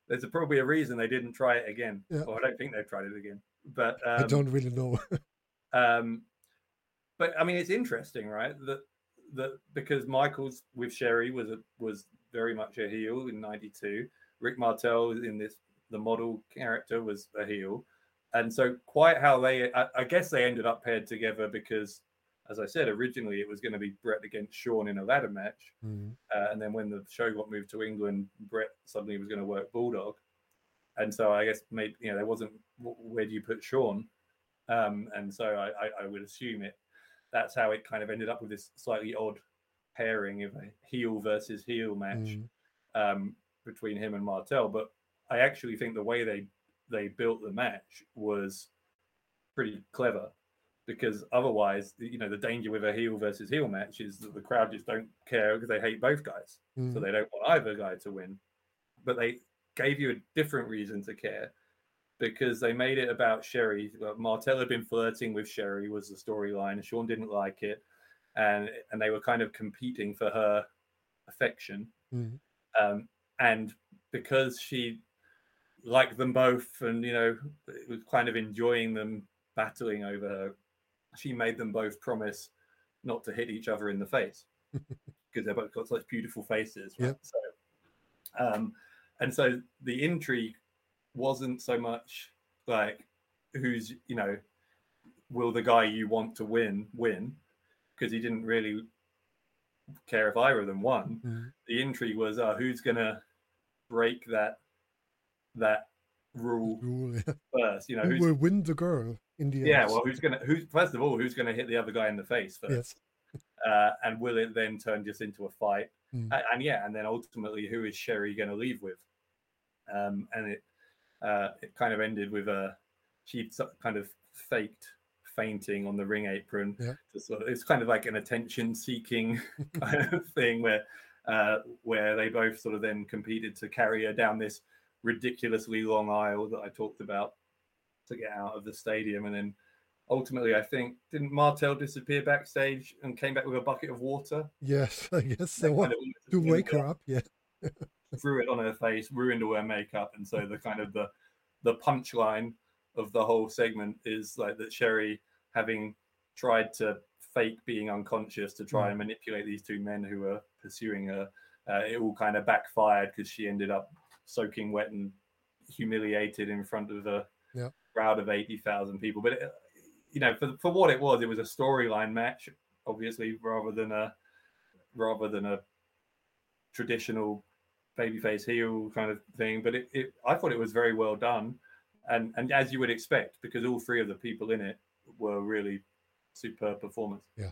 there's a, probably a reason they didn't try it again. Yeah. Or I don't think they've tried it again. But um, I don't really know. um, but I mean, it's interesting, right? That that because Michaels with Sherry was a, was very much a heel in ninety-two. Rick Martel in this the model character was a heel, and so quite how they I, I guess they ended up paired together because, as I said, originally it was going to be Bret against Shawn in a ladder match, Mm. uh, and then when the show got moved to England, Bret suddenly was going to work Bulldog, and so I guess maybe you know there wasn't where do you put Shawn, um, and so I, I, I would assume it. That's how it kind of ended up with this slightly odd pairing of a heel versus heel match Mm. um, between him and Martel. But I actually think the way they they built the match was pretty clever, because otherwise, you know, the danger with a heel versus heel match is that the crowd just don't care because they hate both guys, Mm. so they don't want either guy to win. But they gave you a different reason to care, because they made it about Sherry. Martel had been flirting with Sherry was the storyline. Shawn didn't like it, and and they were kind of competing for her affection. Mm. Um, and because she liked them both, and you know, was kind of enjoying them battling over her, she made them both promise not to hit each other in the face because they've both got such beautiful faces. Right? Yep. So, um, and so the intrigue wasn't so much like who's, you know, will the guy you want to win win, because he didn't really care if either of them won. Mm. The intrigue was uh, who's gonna break that that rule Rule, yeah. first. You know, Who who's will win the girl in the end? yeah, well, who's gonna who's first of all who's gonna hit the other guy in the face first, Yes. uh, and will it then turn just into a fight? Mm. And, and yeah, and then ultimately, who is Sherry going to leave with? Um, and it uh, it kind of ended with a she kind of faked fainting on the ring apron. Yeah. To sort of, it's kind of like an attention-seeking kind of thing where uh, where they both sort of then competed to carry her down this ridiculously long aisle that I talked about to get out of the stadium, and then ultimately, I think didn't Martel disappear backstage and came back with a bucket of water? Yes, I guess They so. kind of To wake her up, yeah. threw it on her face, ruined all her makeup, and so the kind of the the punchline of the whole segment is like that Sherry, having tried to fake being unconscious to try Mm. and manipulate these two men who were pursuing her, uh, it all kind of backfired because she ended up soaking wet and humiliated in front of a Yeah. crowd of eighty thousand people. But it, you know, for for what it was, it was a storyline match, obviously, rather than a rather than a traditional babyface heel kind of thing. But it, it I thought it was very well done, and and as you would expect, because all three of the people in it were really superb performers. Yes.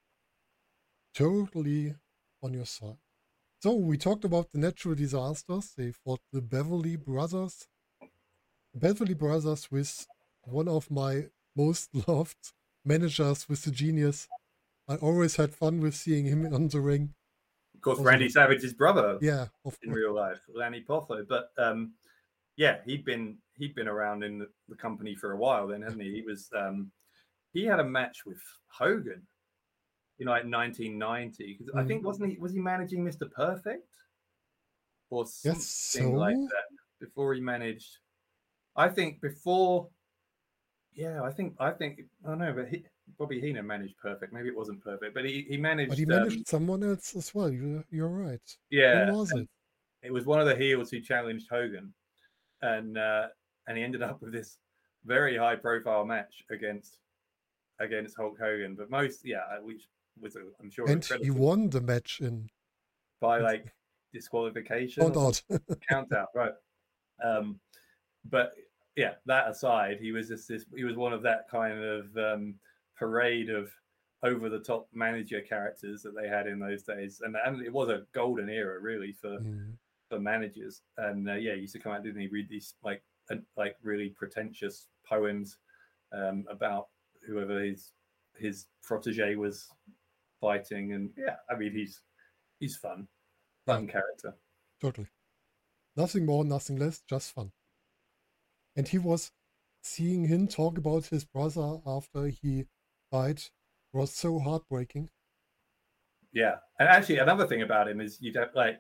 Totally on your side. So we talked about the natural disasters. They fought the Beverly Brothers. Beverly Brothers with one of my most loved managers with the genius. I always had fun with seeing him on the ring. Of course, Also- Randy Savage's brother Yeah, of in course. real life, Lanny Poffo. But um, yeah, he'd been he'd been around in the, the company for a while then, hadn't he? He was um, he had a match with Hogan, you know, like nineteen ninety. Because I Mhm. think wasn't he was he managing Mister Perfect or something Yes, like so? that before he managed? I think before. Yeah, I think I think I don't know, but he, Bobby Heenan managed Perfect. Maybe it wasn't Perfect, but he he managed. But he um, managed someone else as well. You're, you're right. yeah, Who was and it? it was one of the heels who challenged Hogan, and uh, and he ended up with this very high profile match against against Hulk Hogan. But most, yeah, which was a, I'm sure And he incredible won the match in by like disqualification Found or out. count out, right? Um, but yeah, that aside, he was just this. He was one of that kind of um, parade of over the top manager characters that they had in those days, and and it was a golden era really for Mm. for managers. And uh, yeah, he used to come out, didn't he? Read these like uh, like really pretentious poems um, about whoever his his protege was fighting, and yeah, I mean he's he's fun, fun character. Totally. Nothing more, nothing less, just fun. And he was seeing him talk about his brother after he died was so heartbreaking. Yeah, and actually another thing about him is you don't like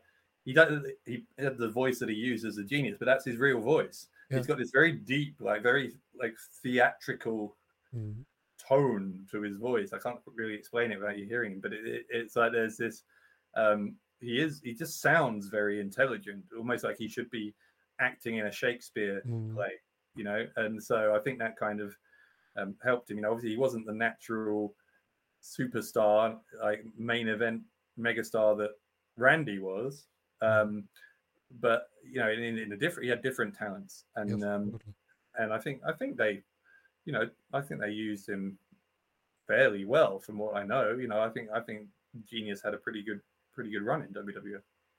he does he had the voice that he used as a genius, but that's his real voice. Yeah. He's got this very deep, like very like theatrical Mm. tone to his voice. I can't really explain it without you hearing him, but it, it, it's like there's this. Um, he is. He just sounds very intelligent, almost like he should be acting in a Shakespeare Mm. play, you know. And so I think that kind of um, helped him. You know, obviously he wasn't the natural superstar, like main event megastar that Randy was. Um, but you know, in, in a different, he had different talents, and Yes, um, totally. and I think I think they, you know, I think they used him fairly well, from what I know. You know, I think I think Genius had a pretty good pretty good run in W W F.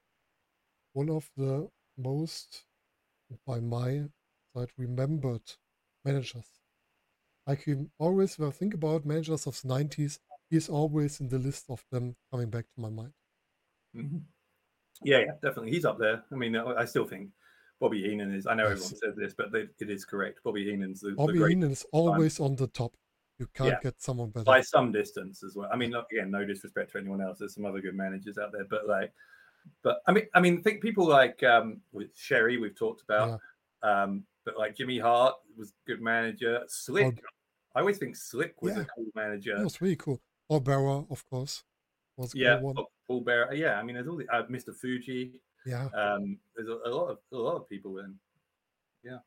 One of the most, by my side, remembered managers. Like you always, when I think about managers of the nineties, he's always in the list of them coming back to my mind. Mm-hmm. Yeah, yeah, definitely. He's up there. I mean, I still think Bobby Heenan is, I know Yes. everyone says this, but they, it is correct. Bobby Heenan's the, Bobby the great Heenan is always on the top. You can't Yeah. get someone better. by some distance as well. I mean, look, again, no disrespect to anyone else. There's some other good managers out there, but like, but I mean, I mean, think people like um, with Sherry, we've talked about, um, but like Jimmy Hart was a good manager. Slick, I always think Slick was Yeah. a cool manager. That was really cool. Or Barra, of course, was a Yeah, cool one. Paul Bearer. Yeah, I mean, there's all the uh, Mister Fuji. Yeah. Um, there's a, a lot of a lot of people in. Yeah.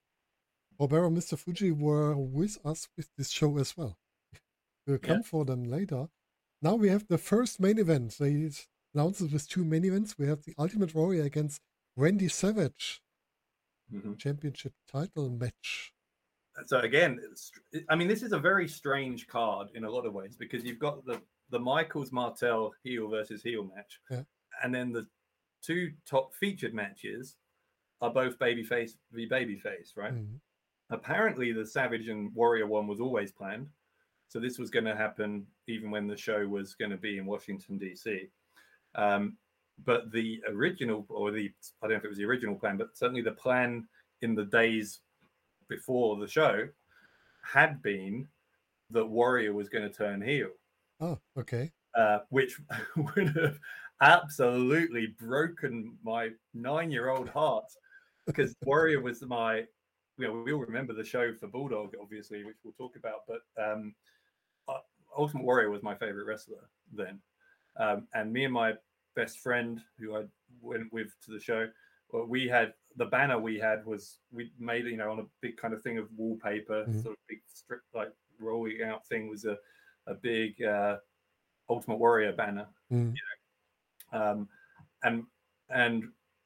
Robert and Mister Fuji were with us with this show as well. We'll come Yeah. for them later. Now we have the first main event. They announced it with two main events. We have the Ultimate Warrior against Randy Savage. Mhm. Championship title match. So again, it's, I mean, this is a very strange card in a lot of ways, because you've got the the Michaels Martel heel versus heel match, Yeah. and then the two top featured matches are both babyface v babyface, right? Mhm. Apparently, the Savage and Warrior one was always planned, so this was going to happen even when the show was going to be in Washington D C. Um, but the original, or the I don't know if it was the original plan, but certainly the plan in the days before the show had been that Warrior was going to turn heel. Oh, okay. Uh, which would have absolutely broken my nine-year-old heart, because Warrior was my, you know, we all remember the show for Bulldog, obviously, which we'll talk about, but um, Ultimate Warrior was my favorite wrestler then. Um, and me and my best friend, who I went with to the show, well, we had the banner we had was we made, you know, on a big kind of thing of wallpaper, Mhm. sort of big strip, like rolling out thing was a, a big uh, Ultimate Warrior banner, Mhm. you know, um, and and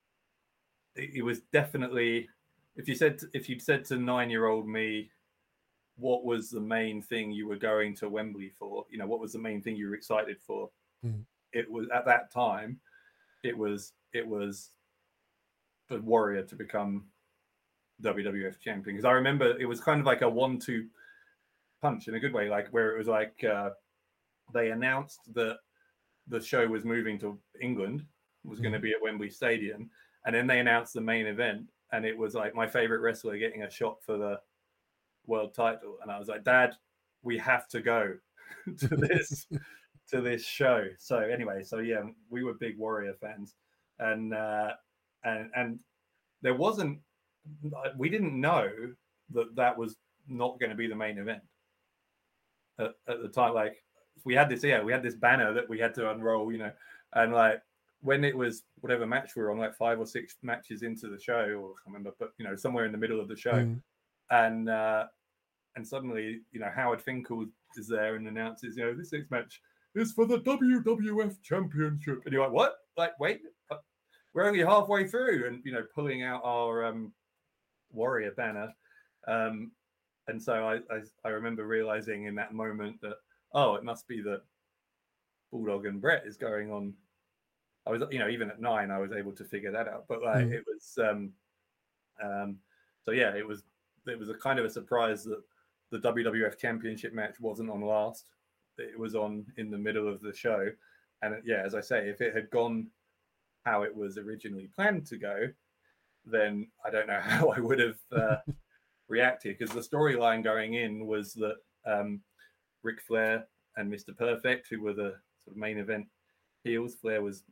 it, it was definitely, if you said to, if you'd said to nine year old me, what was the main thing you were going to Wembley for? You know, what was the main thing you were excited for? Mhm. It was at that time, it was it was for Warrior to become W W F champion, because I remember it was kind of like a one-two punch in a good way, like where it was like uh, they announced that the show was moving to England, was going to Mhm. be at Wembley Stadium, and then they announced the main event, and it was like my favorite wrestler getting a shot for the world title, and I was like, Dad, we have to go to this to this show. So anyway, so yeah, we were big Warrior fans, and uh, and and there wasn't, we didn't know that that was not going to be the main event at, at the time. Like we had this, yeah, we had this banner that we had to unroll, you know, and like when it was whatever match we were on, like five or six matches into the show, or I can't remember, but you know, somewhere in the middle of the show, Mhm. and uh, and suddenly, you know, Howard Finkel is there and announces, you know, this next match is for the W W F Championship, and you're like, what? Like, wait, we're only halfway through, and you know, pulling out our um, Warrior banner, um, and so I, I I remember realizing in that moment that, oh, it must be that Bulldog and Brett is going on. I was, you know, even at nine, I was able to figure that out, but like Mhm. it was, um, um, so yeah, it was it was a kind of a surprise that the W W F Championship match wasn't on last. It was on in the middle of the show, and yeah, as I say, if it had gone how it was originally planned to go, then I don't know how I would have uh, reacted, because the storyline going in was that um, Ric Flair and Mister Perfect, who were the sort of main event heels, Flair was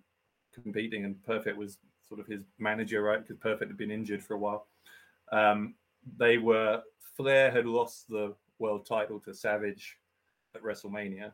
competing, and Perfect was sort of his manager, right? Because Perfect had been injured for a while. Um, they were Flair had lost the world title to Savage at WrestleMania,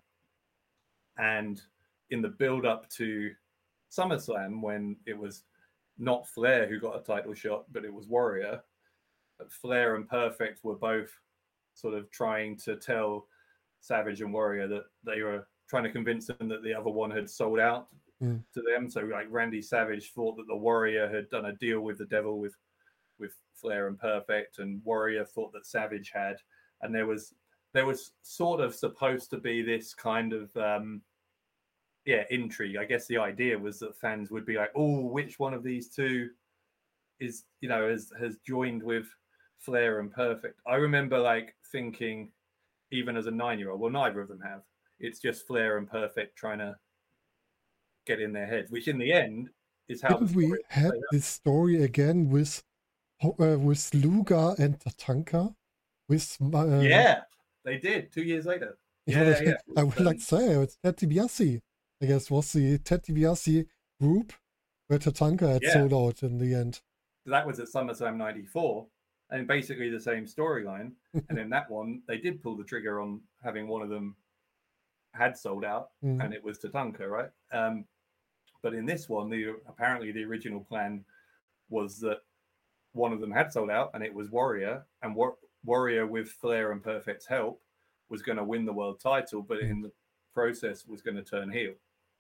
and in the build-up to SummerSlam, when it was not Flair who got a title shot, but it was Warrior, Flair and Perfect were both sort of trying to tell Savage and Warrior that they were trying to convince them that the other one had sold out mm. to them. So like Randy Savage thought that the Warrior had done a deal with the devil with with Flair and Perfect, and Warrior thought that Savage had. And there was there was sort of supposed to be this kind of um, yeah intrigue. I guess the idea was that fans would be like, oh, which one of these two is you know has has joined with Flair and Perfect. I remember like thinking, even as a nine-year-old, well, neither of them have. It's just Flair and Perfect trying to get in their heads, which in the end is how. Didn't we had this story again with uh, with Luger and Tatanka? With uh, yeah, they did two years later. Yeah, yeah. I would um, like to say it's Ted DiBiase. I guess was the Ted DiBiase group where Tatanka had yeah. sold out in the end. That was at SummerSlam ninety-four. And basically the same storyline. And in that one, they did pull the trigger on having one of them had sold out, mm. and it was Tatanka, right? Um, but in this one, the apparently the original plan was that one of them had sold out, and it was Warrior, and War- Warrior with Flair and Perfect's help was going to win the world title, but in the process was going to turn heel.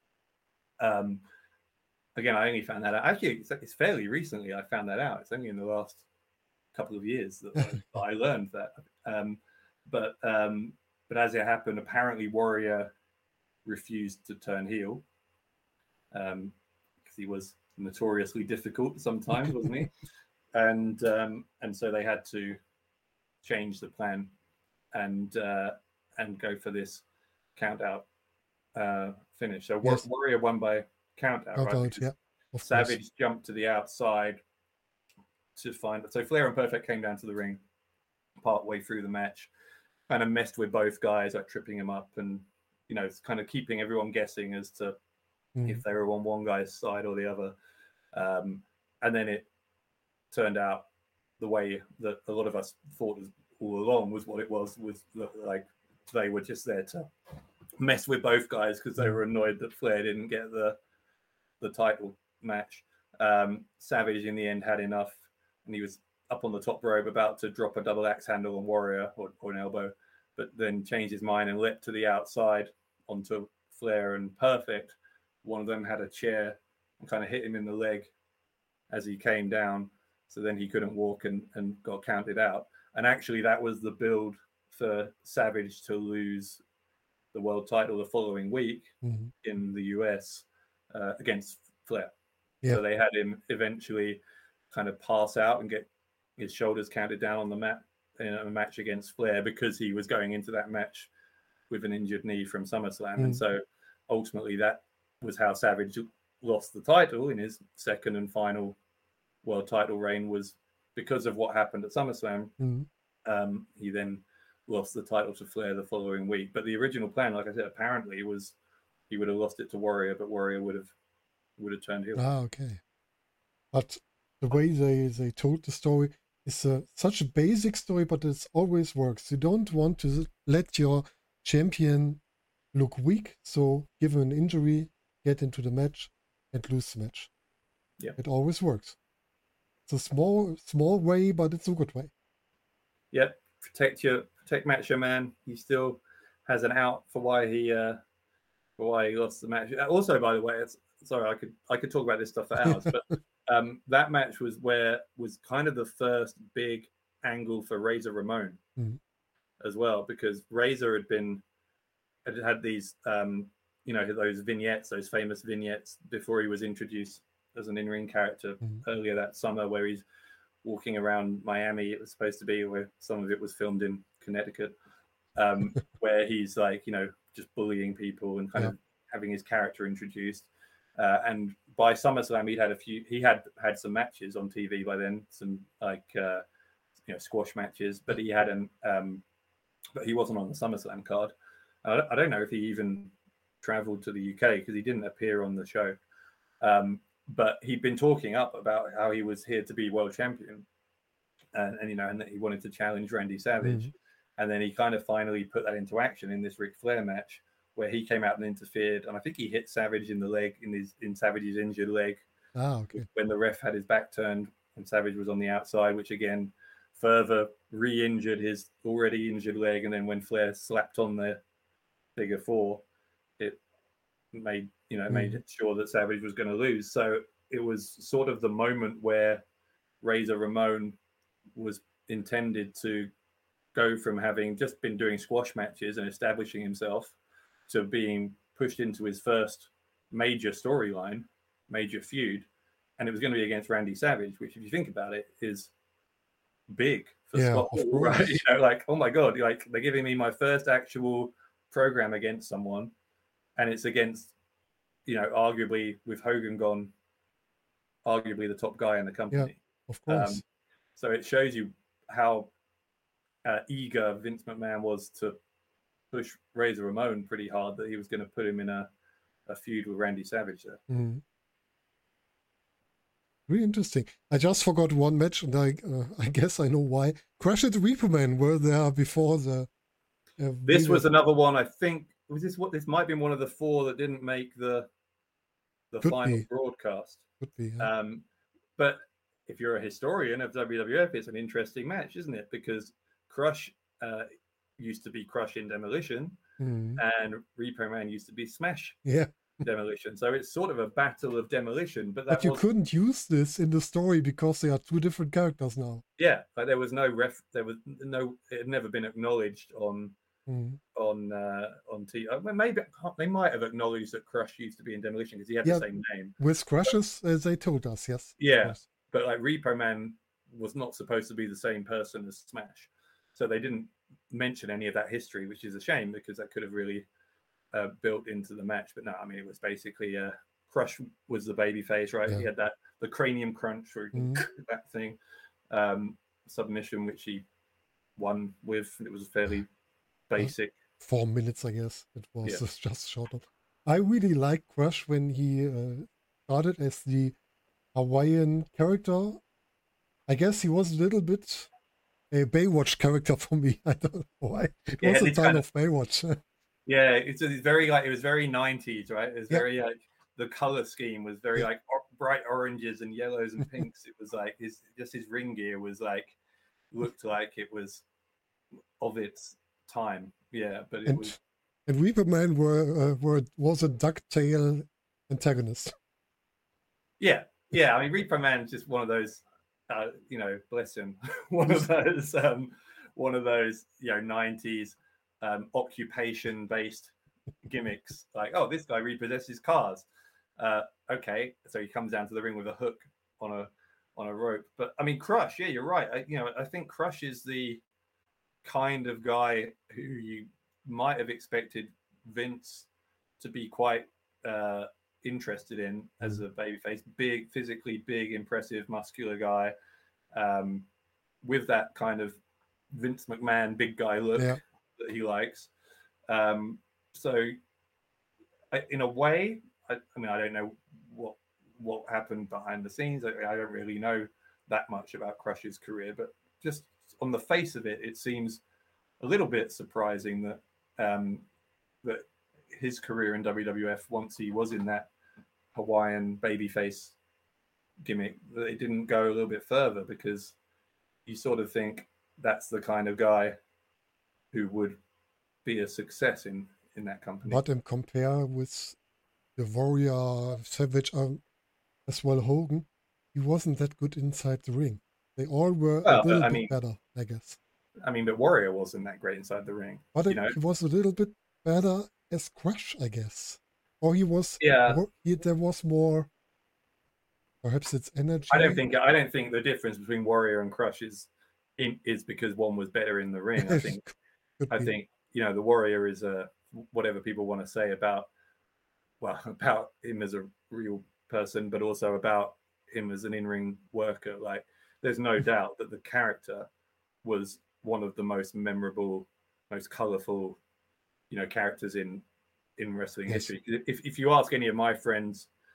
Um, again, I only found that out. Actually, it's, it's fairly recently I found that out. It's only in the last couple of years that I, I learned that. Um, but um, but as it happened, apparently Warrior refused to turn heel because um, he was notoriously difficult sometimes, wasn't he? And um, and so they had to change the plan and uh, and go for this count out uh, finish. So yes. Warrior won by count out, right? Out, yeah, Savage course. Jumped to the outside to find so Flair and Perfect came down to the ring part way through the match, kind of messed with both guys, like tripping him up, and you know, it's kind of keeping everyone guessing as to mm. if they were on one guy's side or the other. Um, and then it turned out the way that a lot of us thought all along was what it was, was like they were just there to mess with both guys because they were annoyed that Flair didn't get the the title match. Um, Savage in the end had enough, and he was up on the top rope about to drop a double axe handle on Warrior or, or an elbow, but then changed his mind and leapt to the outside onto Flair and Perfect. One of them had a chair and kind of hit him in the leg as he came down. So then he couldn't walk and, and got counted out. And actually that was the build for Savage to lose the world title the following week mm-hmm. in the U S uh, against Flair. Yeah. So they had him eventually kind of pass out and get his shoulders counted down on the mat in a match against Flair because he was going into that match with an injured knee from SummerSlam. Mm. And so ultimately that was how Savage lost the title in his second and final world title reign, was because of what happened at SummerSlam. Mm. Um, he then lost the title to Flair the following week. But the original plan, like I said, apparently was he would have lost it to Warrior, but Warrior would have would have turned heel. Ah, okay. But the way they, they told the story is uh, such a basic story, but it always works. You don't want to let your champion look weak, so give him an injury, get into the match, and lose the match. Yeah, it always works. It's a small, small way, but it's a good way. Yeah, protect your protect Macho Man. He still has an out for why he uh, for why he lost the match. Also, by the way, it's sorry, I could I could talk about this stuff for hours, but um, that match was where was kind of the first big angle for Razor Ramon mm-hmm. as well, because Razor had been had had these um, you know those vignettes, those famous vignettes before he was introduced as an in-ring character mm-hmm. earlier that summer, where he's walking around Miami. It was supposed to be where some of it was filmed in Connecticut, um, where he's like you know just bullying people and kind yeah. of having his character introduced. Uh, and by SummerSlam, he'd had a few. He had had some matches on T V by then, some like uh, you know squash matches. But he had an, um, but he wasn't on the SummerSlam card. I don't, I don't know if he even traveled to the U K because he didn't appear on the show. Um, but he'd been talking up about how he was here to be world champion, and, and you know, and that he wanted to challenge Randy Savage, Mhm. and then he kind of finally put that into action in this Ric Flair match, where he came out and interfered, and I think he hit Savage in the leg, in his in Savage's injured leg, Ah, okay. when the ref had his back turned and Savage was on the outside, which again further re-injured his already injured leg. And then when Flair slapped on the figure four, it made you know made Mhm. sure that Savage was going to lose. So it was sort of the moment where Razor Ramon was intended to go from having just been doing squash matches and establishing himself to being pushed into his first major storyline, major feud, and it was going to be against Randy Savage, which, if you think about it, is big for Yeah, Scott of Hall, right? course. You know, like, oh my god, like they're giving me my first actual program against someone, and it's against, you know, arguably with Hogan gone, arguably the top guy in the Yeah, company. of Um, course. so it shows you how uh, eager Vince McMahon was to push Razor Ramon pretty hard, that he was going to put him in a, a feud with Randy Savage there. Mhm. Really interesting. I just forgot one match, and I uh, I guess I know why. Crush and Reaper Man were there before the. Uh, we This were was another one, I think. Was this what? This might have been one of the four that didn't make the the could final be broadcast. could be. Yeah. Um, but if you're a historian of W W F, it's an interesting match, isn't it? Because Crush uh, used to be Crush in Demolition, Mhm. and Repo Man used to be Smash Yeah, Demolition. So it's sort of a battle of demolition. But that but you was couldn't use this in the story because they are two different characters now. yeah, like there was no ref. There was no. It had never been acknowledged on Mhm. on uh, on T. Uh, maybe they might have acknowledged that Crush used to be in Demolition because he had Yeah, the same name. with Crushes, uh, they told us, yes. of Yeah, course. but like Repo Man was not supposed to be the same person as Smash, so they didn't mention any of that history, which is a shame because that could have really uh, built into the match. But no, I mean it was basically uh, Crush was the baby face, right? Yeah. He had that the cranium crunch or Mhm. that thing um, submission, which he won with. It was fairly basic. Four minutes, I guess. It was Yeah. just- just shorter. I really liked Crush when he uh, started as the Hawaiian character. I guess he was a little bit a Baywatch character for me. I don't know why. It Yeah, was a this time kind of Baywatch. Yeah, it's, it's very like it was very nineties, right? It was Yeah. very like the color scheme was very Yeah. like or- bright oranges and yellows and pinks. It was like his just his ring gear was like looked like it was of its time. Yeah, but it and was and Reaper Man were, uh, were was a ducktail antagonist. yeah, yeah. I mean, Repo Man's just one of those, uh, you know, bless him, one of those, um, one of those, you know, nineties um, occupation-based gimmicks. Like, oh, this guy repossesses cars. Uh, okay, so he comes down to the ring with a hook on a on a rope. But I mean, Crush, yeah, you're right. I, you know, I think Crush is the kind of guy who you might have expected Vince to be quite uh, interested in as a babyface. Big, physically big, impressive, muscular guy um, with that kind of Vince McMahon big guy look Yeah. that he likes. Um, so, I- in a way, I, I mean, I don't know what what happened behind the scenes. I, I don't really know that much about Crush's career, but just on the face of it, it seems a little bit surprising that um, that his career in W W F, once he was in that Hawaiian babyface gimmick, that it didn't go a little bit further, because you sort of think that's the kind of guy who would be a success in in that company. But in compare with the Warrior, Savage, um, as well Hogan, he wasn't that good inside the ring. They all were Well, a little I bit mean- better, I guess. I mean, but Warrior wasn't that great inside the ring. But you it- know, he was a little bit better as Crush, I guess. Or he was yeah. more, he, there was more. Perhaps it's energy. I don't think I don't think the difference between Warrior and Crush is in, is because one was better in the ring. I think Could I be. think you know the Warrior is a whatever people want to say about well about him as a real person, but also about him as an in-ring worker. Like, there's no doubt that the character was one of the most memorable, most colorful, you know, characters in in wrestling Yes. history. If if you ask any of my friends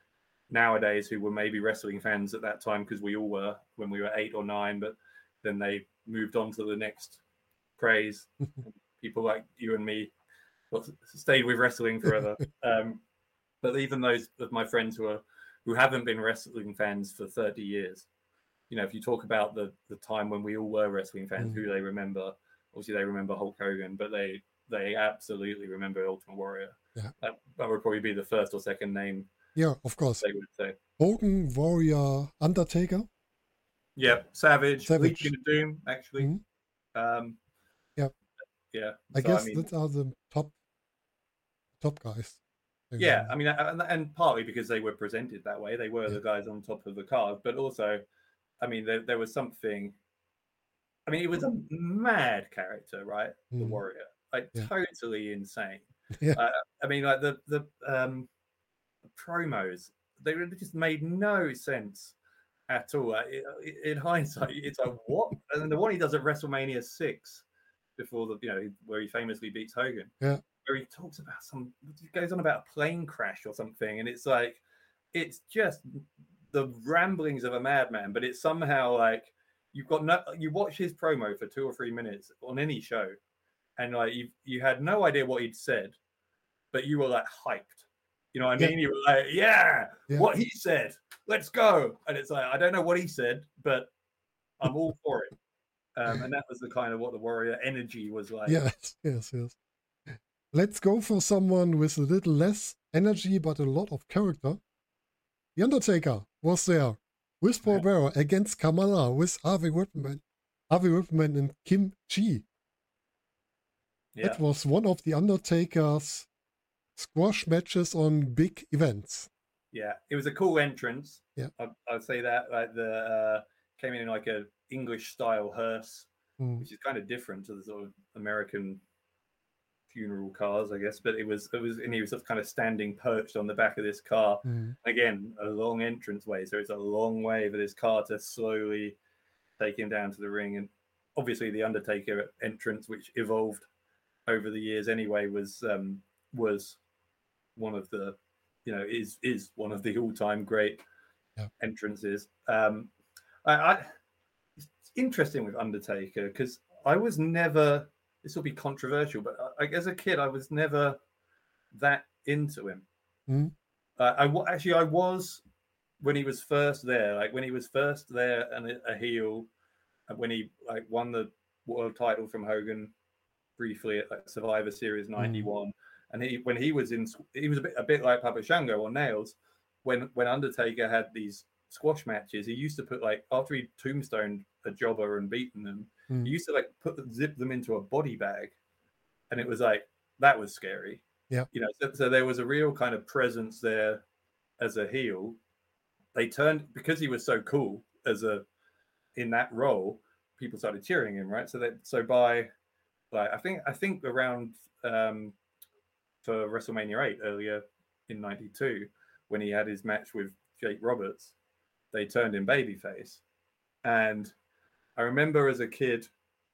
nowadays who were maybe wrestling fans at that time, because we all were when we were eight or nine, but then they moved on to the next craze. People like you and me stayed with wrestling forever. um, but even those of my friends who are who haven't been wrestling fans for thirty years, you know, if you talk about the the time when we all were wrestling fans, mm. who they remember, obviously they remember Hulk Hogan, but they they absolutely remember Ultimate Warrior. Yeah. That, that would probably be the first or second name. Yeah, of course. They would say Hogan, Warrior, Undertaker. Yeah, Savage, Savage. Legion of Doom, actually. Mm-hmm. Um, yeah, yeah. I so, guess I mean, that are the top top guys. Yeah, I mean, and, and partly because they were presented that way, they were yeah. the guys on top of the card, but also, I mean, there, there was something. I mean, it was a mad character, right? The mm. Warrior, like yeah. totally insane. Yeah. Uh, I mean, like the the um, promos, they just made no sense at all. Uh, in hindsight, it's like what? And then the one he does at WrestleMania six, before the you know where he famously beats Hogan. Yeah. Where he talks about some, he goes on about a plane crash or something, and it's like, it's just the ramblings of a madman. But it's somehow like you've got no, you watch his promo for two or three minutes on any show, and like you you had no idea what he'd said, but you were like hyped. You know what I mean? Yeah. You were like, yeah, yeah, what he said, let's go. And it's like, I don't know what he said, but I'm all for it. Um, and that was the kind of what the Warrior energy was like. Yes, yes, yes. Let's go for someone with a little less energy, but a lot of character. The Undertaker was there with Paul yeah. Bearer against Kamala with Harvey Whippleman, Harvey Whippleman and Kim Chi. Yeah. That was one of the Undertaker's squash matches on big events. Yeah, it was a cool entrance. Yeah, I'd, I'd say that. Like the uh, came in like a English style hearse, mm. which is kind of different to the sort of American funeral cars, I guess, but it was it was and he was just kind of standing perched on the back of this car. Mm. Again, a long entrance way, so it's a long way for this car to slowly take him down to the ring. And obviously the Undertaker entrance, which evolved over the years anyway, was um was one of the you know is is one of the all-time great yeah. entrances. um I, I it's interesting with Undertaker because I was never, this will be controversial, but I, as a kid, I was never that into him. Mm. Uh, I actually I was when he was first there, like when he was first there and a, a heel, when he like won the world title from Hogan briefly at like Survivor Series ninety-one, mm. and he when he was in, he was a bit a bit like Papa Shango on Nails. When when Undertaker had these squash matches, he used to put like after he tombstoned a jobber and beaten them. Mm. He used to like put zip them into a body bag, and it was like that was scary. Yeah, you know. So, so there was a real kind of presence there as a heel. They turned because he was so cool as a in that role. People started cheering him, right? So that so by like I think I think around um, for WrestleMania eight earlier in ninety-two when he had his match with Jake Roberts, they turned him babyface, and I remember as a kid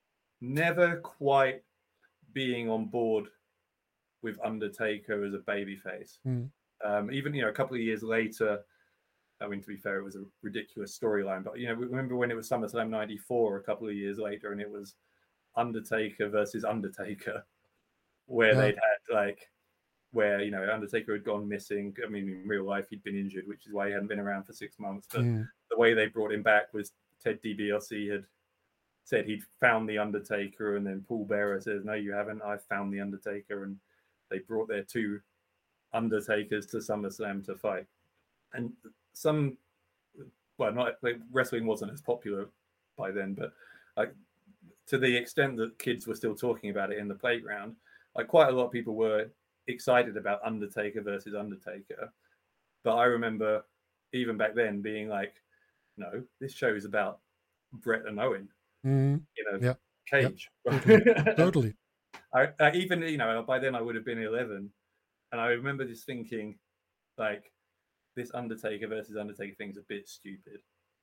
never quite being on board with Undertaker as a babyface. Mm. Um, even, you know, a couple of years later, I mean, to be fair, it was a ridiculous storyline, but, you know, remember when it was SummerSlam ninety-four, a couple of years later, and it was Undertaker versus Undertaker, where yeah. they'd had, like, where, you know, Undertaker had gone missing. I mean, in real life, he'd been injured, which is why he hadn't been around for six months. But mm. the way they brought him back was Ted DiBiase had said he'd found the Undertaker, and then Paul Bearer says, "No, you haven't. I found the Undertaker," and they brought their two Undertakers to SummerSlam to fight. And some, well, not like wrestling wasn't as popular by then, but like to the extent that kids were still talking about it in the playground, like quite a lot of people were excited about Undertaker versus Undertaker. But I remember even back then being like, no, this show is about Bret and Owen. Mm, you know, yeah, Cage. Yeah, totally. totally. I, I even, you know, by then I would have been eleven, and I remember just thinking, like, this Undertaker versus Undertaker thing's a bit stupid.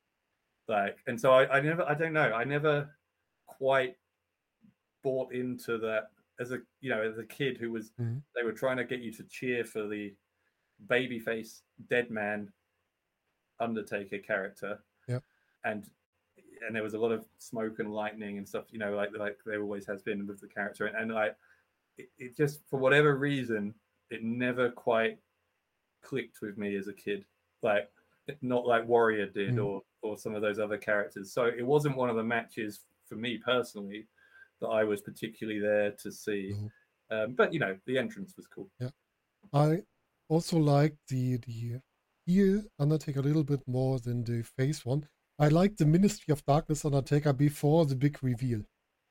Like, and so I, I never, I don't know, I never quite bought into that as a, you know, as a kid who was, mm-hmm. they were trying to get you to cheer for the babyface dead man Undertaker character. Yeah. And and there was a lot of smoke and lightning and stuff, you know, like like there always has been with the character. And, and like it, it just, for whatever reason, it never quite clicked with me as a kid. Like, not like Warrior did mm. or or some of those other characters. So it wasn't one of the matches for me personally that I was particularly there to see. Mm. Um, but, you know, the entrance was cool. Yeah. I also liked the the heel Undertaker a little bit more than the face one. I liked the Ministry of Darkness Undertaker before the big reveal.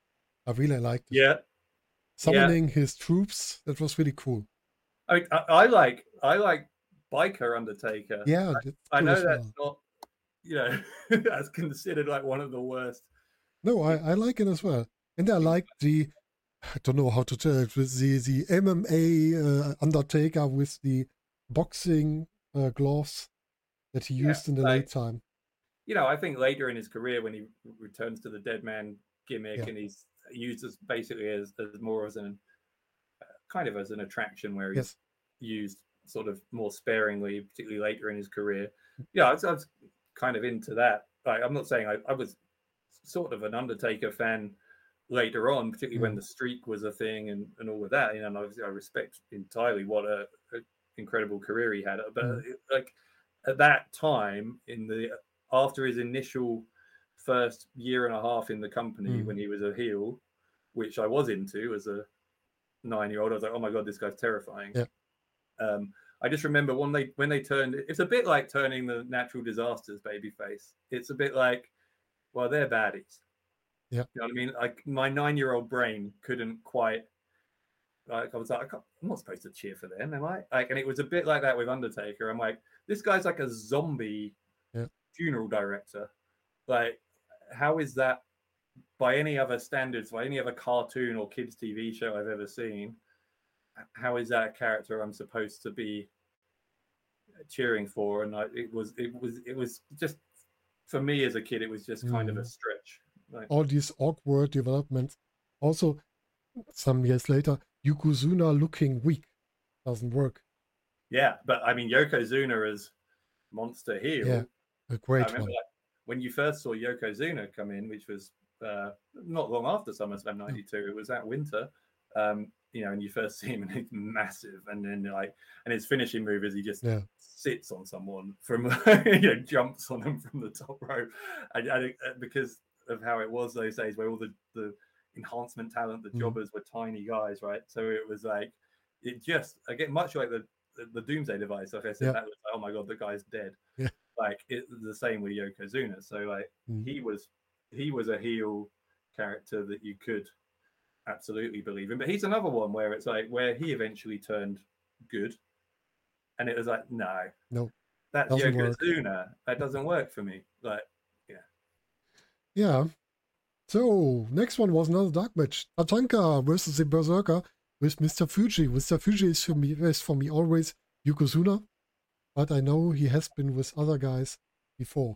I really liked it. Yeah. Summoning yeah. his troops, that was really cool. I mean, I, I like I like Biker Undertaker. Yeah, I, I know that's well. not, you know, that's considered like one of the worst. No, I, I like it as well. And I like the, I don't know how to tell it, with the, the M M A uh, Undertaker with the boxing uh, gloves that he used yeah, in the like, late time. You know, I think later in his career when he returns to the Dead Man gimmick yeah. and he's used as basically as, as more as an, uh, kind of as an attraction where he's yes. used sort of more sparingly, particularly later in his career. Yeah, I was, I was kind of into that. Like, I'm not saying I, I was sort of an Undertaker fan later on, particularly mm. when the streak was a thing and, and all of that. You know, and obviously I respect entirely what a, a incredible career he had. But mm. like at that time, in the after his initial first year and a half in the company mm. when he was a heel, which I was into as a nine-year-old, I was like, oh my god, this guy's terrifying. Yeah. Um, I just remember when they when they turned, it's a bit like turning the Natural Disasters babyface. It's a bit like, well, they're baddies. Yeah, you know what I mean. Like my nine-year-old brain couldn't quite. Like I was like, I can't, I'm not supposed to cheer for them, am I? Like, and it was a bit like that with Undertaker. I'm like, this guy's like a zombie yeah. funeral director. Like, how is that by any other standards, by any other cartoon or kids' T V show I've ever seen? How is that a character I'm supposed to be cheering for? And I, it was, it was, it was just for me as a kid, it was just kind mm. of a stretch. Like, all these awkward developments. Also, some years later, Yokozuna looking weak doesn't work. Yeah, but I mean, Yokozuna as Monster heel. Yeah, a great I remember one. Like, when you first saw Yokozuna come in, which was uh, not long after SummerSlam ninety-two, it was that winter. Um, you know, and you first see him and he's massive, and then like, and his finishing move is he just yeah. sits on someone from, you know, jumps on them from the top rope, and, and because of how it was those days, where all the the enhancement talent, the jobbers mm. were tiny guys, right? So it was like, it just again much like the the, the Doomsday Device. Like I said, yeah. that was like, oh my god, the guy's dead. Yeah. Like it's the same with Yokozuna. So like mm. he was he was a heel character that you could absolutely believe in, but he's another one where it's like where he eventually turned good, and it was like no, no, that's Yokozuna. Work. That doesn't work for me. Like yeah, yeah. So next one was another dark match: Tatanka versus the Berserker with Mister Fuji. Mister Fuji is for me is for me always Yokozuna, but I know he has been with other guys before.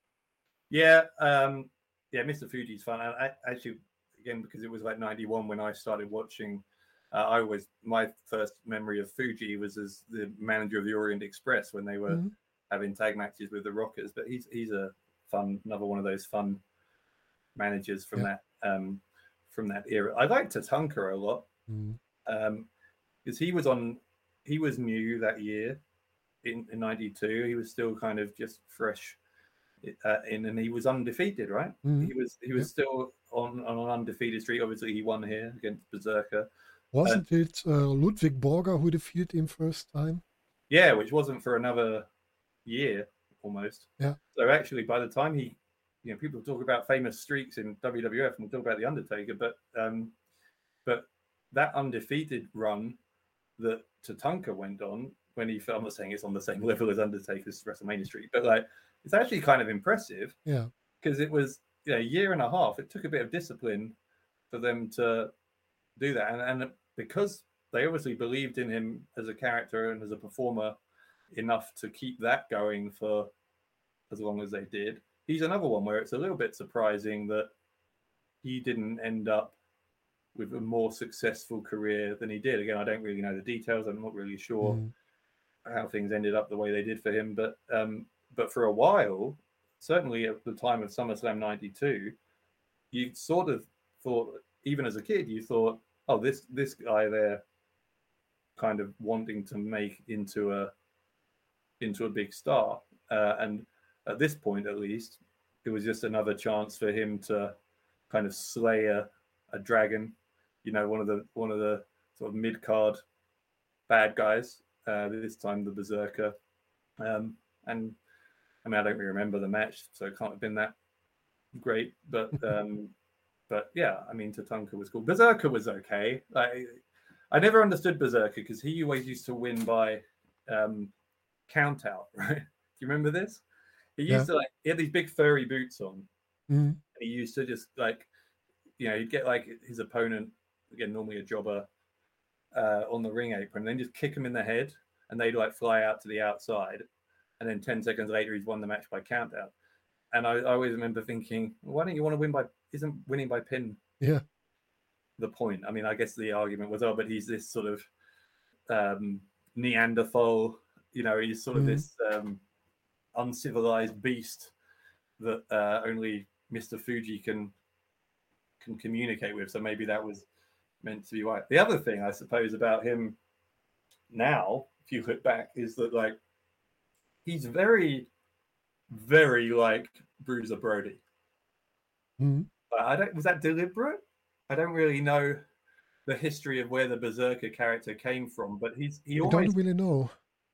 Yeah, um, yeah, Mister Fuji's fun. I, I actually. Again, because it was like ninety-one when I started watching, uh, I was my first memory of Fuji was as the manager of the Orient Express when they were mm-hmm. having tag matches with the Rockers. But he's he's a fun, another one of those fun managers from yeah. that um, from that era. I liked Tatanka a lot because mm-hmm. um, he was on, he was new that year in, in ninety-two. He was still kind of just fresh. Uh, in and he was undefeated, right? Mm-hmm. He was he was yeah. still on, on an undefeated streak. Obviously, he won here against Berserker. Wasn't uh, it uh, Ludwig Borger who defeated him first time? Yeah, which wasn't for another year almost. Yeah. So actually, by the time he, you know, people talk about famous streaks in W W F and we'll talk about the Undertaker, but um, but that undefeated run that Tatanka went on when he, I'm not saying it's on the same level as Undertaker's WrestleMania streak, but like. It's actually kind of impressive, yeah, because it was you know, a year and a half. It took a bit of discipline for them to do that, and, and because they obviously believed in him as a character and as a performer enough to keep that going for as long as they did. He's another one where it's a little bit surprising that he didn't end up with a more successful career than he did. Again, I don't really know the details. I'm not really sure mm. how things ended up the way they did for him, but. Um, but for a while, certainly at the time of SummerSlam ninety-two, you sort of thought, even as a kid, you thought, oh, this this guy there kind of wanting to make into a into a big star. Uh, and at this point, at least, it was just another chance for him to kind of slay a, a dragon, you know, one of the one of the sort of mid-card bad guys, uh, this time the Berserker. Um, and I mean, I don't really remember the match, so it can't have been that great. But um, but yeah, I mean, Tatanka was cool. Berserker was okay. I I never understood Berserker because he always used to win by um, count out, right? Do you remember this? He used yeah. to like he had these big furry boots on. Mm-hmm. And he used to just like, you know, he'd get like his opponent, again, normally a jobber, uh, on the ring apron, and then just kick him in the head, and they'd like fly out to the outside, and then ten seconds later he's won the match by count out. And I, I always remember thinking, why don't you want to win by? Isn't winning by pin? Yeah. The point. I mean, I guess the argument was, oh, but he's this sort of um, Neanderthal, you know, he's sort of mm-hmm. this um, uncivilized beast that uh, only Mister Fuji can can communicate with. So maybe that was meant to be right. The other thing, I suppose, about him now, if you look back, is that like he's very, very like Bruiser Brody. Mm-hmm. I don't. Was that deliberate? I don't really know the history of where the Berserker character came from, but he's he I almost don't really know.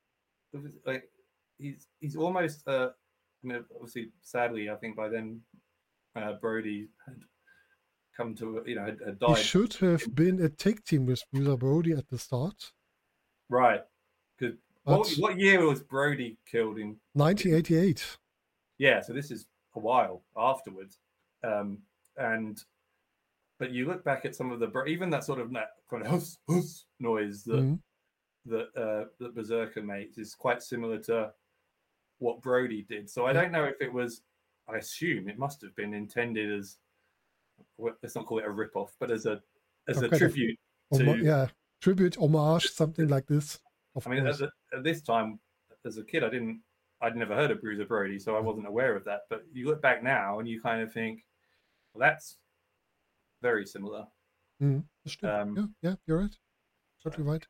Like he's he's almost. Uh, I mean, obviously, sadly, I think by then uh, Brody had come to you know had, had died. He should have been a tag team with Bruiser Brody at the start. Right. Because what, what year was Brody killed in? nineteen eighty-eight. Yeah, so this is a while afterwards, um, and. But you look back at some of the even that sort of that kind of huss, huss noise that mm-hmm. that uh, that Berserker makes is quite similar to what Brody did. So I don't know if it was. I assume it must have been intended as let's not call it a rip-off, but as a as a tribute of, to om- yeah tribute homage something like this. Of I mean, at, the, at this time as a kid, I didn't I'd never heard of Bruiser Brody, so I wasn't aware of that. But you look back now and you kind of think, well, that's very similar. Mm, um, yeah, yeah, you're right. Totally right.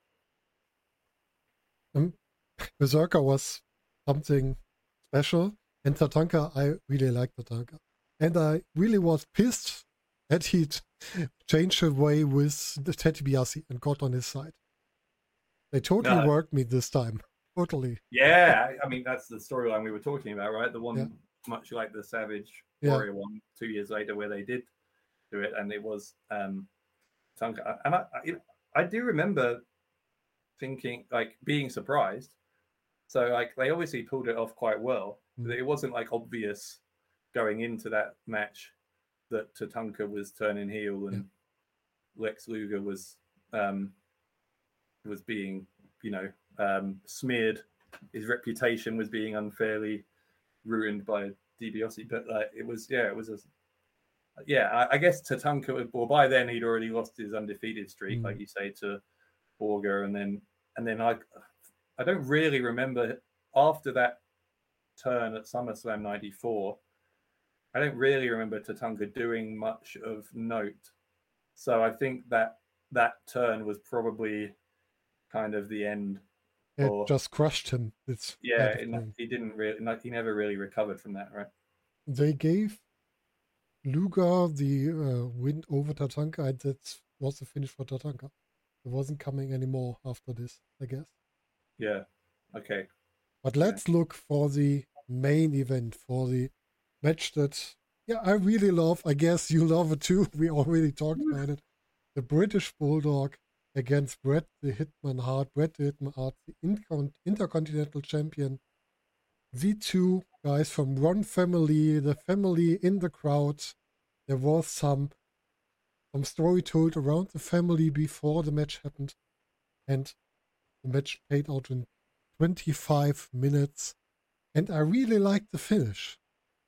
Um, Berserker was something special, and Tatanka, I really liked Tatanka. And I really was pissed that he'd changed away with the Ted DiBiase and got on his side. They totally no. worked me this time. Totally. Yeah, I mean, that's the storyline we were talking about, right? The one yeah. much like the Savage yeah. Warrior one two years later where they did do it, and it was um Tatanka. And I, I, I do remember thinking, like, being surprised. So, like, they obviously pulled it off quite well. Mm. It wasn't like obvious going into that match that Tatanka was turning heel and yeah. Lex Luger was um was being, you know, um smeared. His reputation was being unfairly ruined by DiBiase. But like, it was, yeah, it was a Yeah, I, I guess Tatanka, well, by then he'd already lost his undefeated streak, mm. like you say, to Borger, and then and then I, I don't really remember after that turn at SummerSlam ninety-four. I don't really remember Tatanka doing much of note, so I think that that turn was probably kind of the end. It or, just crushed him. It's yeah, it, he didn't really, he never really recovered from that, right? They gave Luger the uh, win over Tatanka, and that was the finish for Tatanka. It wasn't coming anymore after this, I guess. Yeah. Okay. But let's yeah. look for the main event, for the match that, yeah, I really love. I guess you love it too. We already talked about it. The British Bulldog against Bret the Hitman Hart. Bret the Hitman Hart, the Inter- Intercontinental Champion. The two guys from one family, the family in the crowd. There was some some story told around the family before the match happened, and the match played out in twenty-five minutes, and I really liked the finish.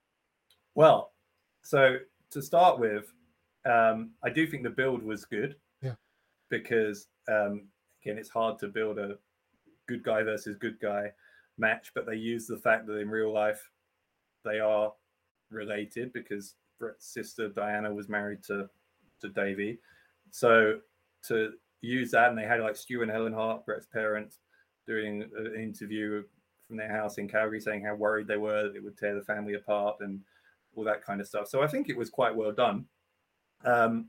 Well, so to start with, um, I do think the build was good. Yeah. Because, um, again, it's hard to build a good guy versus good guy match, but they use the fact that in real life they are related because Bret's sister Diana was married to to Davey. So to use that, and they had like Stu and Helen Hart, Bret's parents, doing an interview from their house in Calgary saying how worried they were that it would tear the family apart and all that kind of stuff. So I think it was quite well done. Um,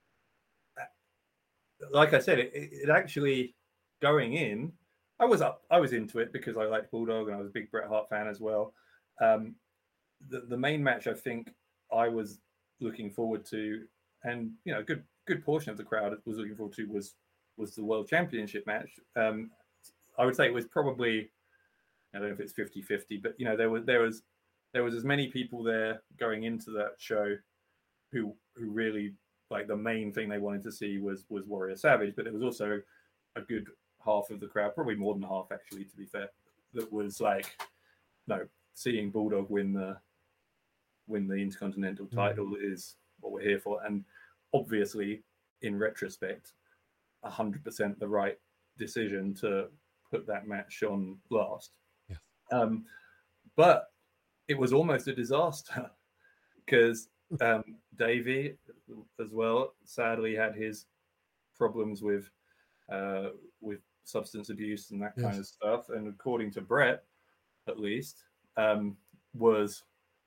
like I said, it, it actually going in, I was up, I was into it because I liked Bulldog and I was a big Bret Hart fan as well. Um, the the main match I think I was looking forward to, and you know, a good good portion of the crowd was looking forward to was was the World Championship match. Um, I would say it was probably, I don't know if it's fifty-fifty, but you know, there was there was there was as many people there going into that show who who really, like, the main thing they wanted to see was was Warrior Savage, but there was also a good half of the crowd, probably more than half actually, to be fair, that was like, no, seeing Bulldog win the win the Intercontinental title mm. is what we're here for. And obviously, in retrospect, one hundred percent the right decision to put that match on last. Yes. Um, but it was almost a disaster because um, Davey, as well, sadly had his problems with uh, with substance abuse and that yes. kind of stuff. And according to Bret, at least, um, was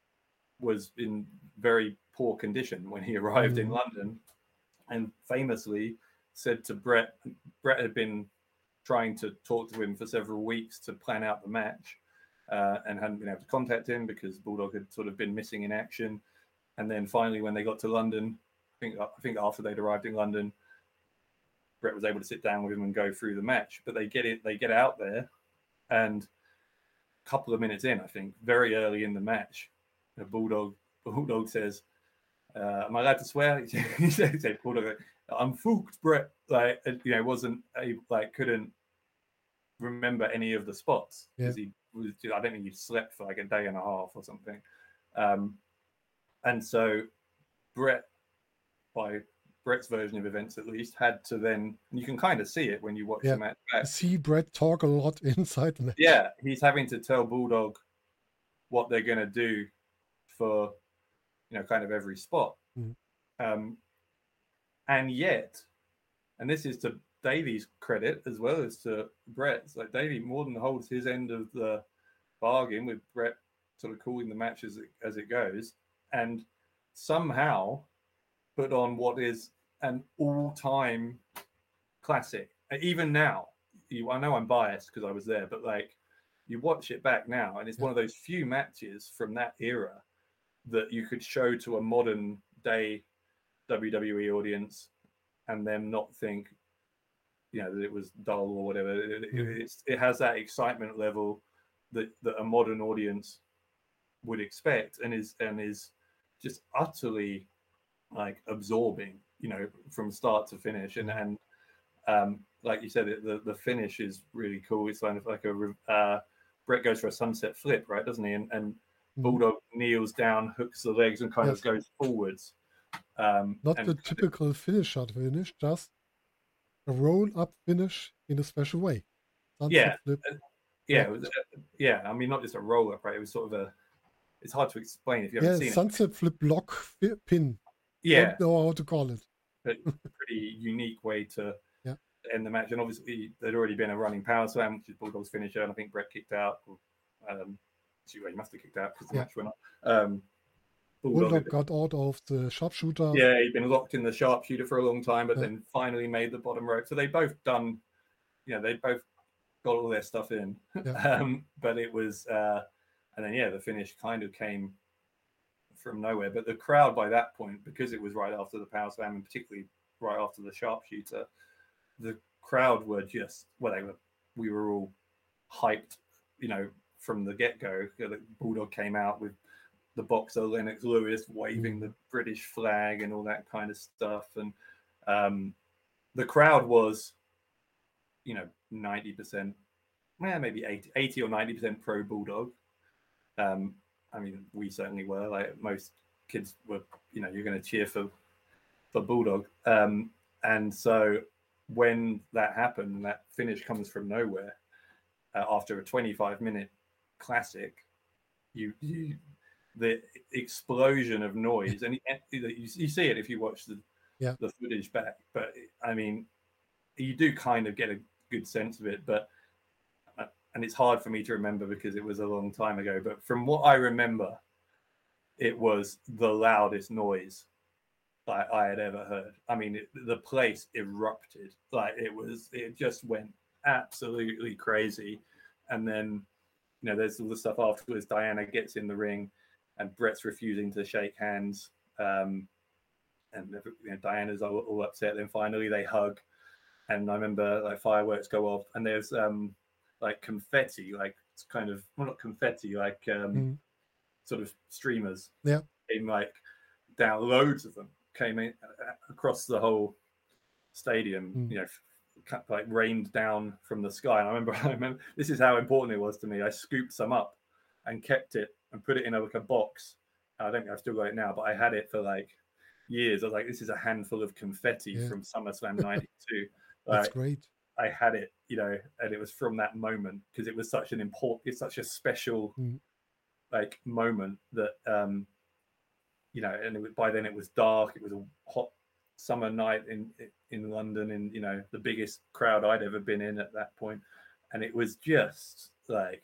was in very poor condition when he arrived mm. in London, and famously said to Bret, Bret had been trying to talk to him for several weeks to plan out the match, uh, and hadn't been able to contact him because Bulldog had sort of been missing in action. And then finally, when they got to London, I think I think after they'd arrived in London, Bret was able to sit down with him and go through the match. But they get it, they get out there, and a couple of minutes in, I think, very early in the match, the Bulldog Bulldog says, uh, "Am I allowed to swear?" He said, "Bulldog, I'm fucked, Bret." Like, you know, wasn't able, like, couldn't remember any of the spots because yeah. he was. I don't think he slept for like a day and a half or something. Um, and so Bret, by Bret's version of events at least, had to then, and you can kind of see it when you watch yeah. the match back. See Bret talk a lot inside the match. Yeah, he's having to tell Bulldog what they're going to do for, you know, kind of every spot. Mm. Um, and yet, and this is to Davey's credit as well as to Bret's, like, Davey more than holds his end of the bargain with Bret sort of calling the match as it, as it goes, and somehow put on what is an all-time classic. Even now, you, I know I'm biased because I was there, but like, you watch it back now, and it's yeah. one of those few matches from that era that you could show to a modern day W W E audience and them not think, you know, that it was dull or whatever. It, it, it's, it has that excitement level that, that a modern audience would expect, and is and is just utterly, like, absorbing, you know, from start to finish. And and um, like you said, the the finish is really cool. It's kind of like a uh, Bret goes for a sunset flip, right? Doesn't he? And and Bulldog kneels down, hooks the legs, and kind yes. of goes forwards. Um, Not and, the typical finish shot finish, just a roll up finish in a special way. Sunset yeah, flip. Uh, yeah, it was, uh, yeah. I mean, not just a roll up, right? It was sort of a. It's hard to explain if you haven't yeah, seen sunset it. Sunset flip block fi- pin. Yeah, don't know how to call it. But pretty unique way to yeah. end the match. And obviously, there'd already been a running power slam, which is Bulldog's finisher, and I think Bret kicked out. Um, he must have kicked out because the yeah. match went on. Um, Bulldog, Bulldog got out of the sharpshooter. Yeah, he'd been locked in the sharpshooter for a long time, but yeah. then finally made the bottom rope. So they both done, you know, they both got all their stuff in. Yeah. um, but it was, uh, and then, yeah, the finish kind of came from nowhere. But the crowd by that point, because it was right after the power slam and particularly right after the sharpshooter, the crowd were just, well, they were, we were all hyped, you know, from the get-go. The Bulldog came out with the boxer Lennox Lewis waving the British flag and all that kind of stuff. And um, the crowd was, you know, ninety percent, well, maybe eighty, eighty or ninety percent pro Bulldog. Um, I mean, we certainly were. Like, most kids were, you know, you're going to cheer for for Bulldog. Um, and so when that happened, that finish comes from nowhere. uh, after a twenty-five minute classic, you, you the explosion of noise, and you, you see it if you watch the yeah. the footage back. But I mean, you do kind of get a good sense of it, but and it's hard for me to remember because it was a long time ago. But from what I remember, it was the loudest noise I, I had ever heard. I mean, it, the place erupted. Like it was, it just went absolutely crazy. And then, you know, there's all the stuff afterwards. Diana gets in the ring, and Brett's refusing to shake hands. Um, and you know, Diana's all, all upset. Then finally they hug, and I remember like fireworks go off, and there's um like confetti, like it's kind of well not confetti, like um mm. sort of streamers. Yeah, came like down, loads of them came in across the whole stadium. Mm. You know, like rained down from the sky. And I remember, I remember this is how important it was to me. I scooped some up and kept it and put it in a, like a box. I don't think I've still got it now, but I had it for like years. I was like, this is a handful of confetti yeah. from SummerSlam ninety-two. That's like, great. I had it, you know, and it was from that moment because it was such an important, it's such a special mm. like moment that, um, you know, and it was, by then it was dark. It was a hot summer night in in London, in, you know, the biggest crowd I'd ever been in at that point, and it was just like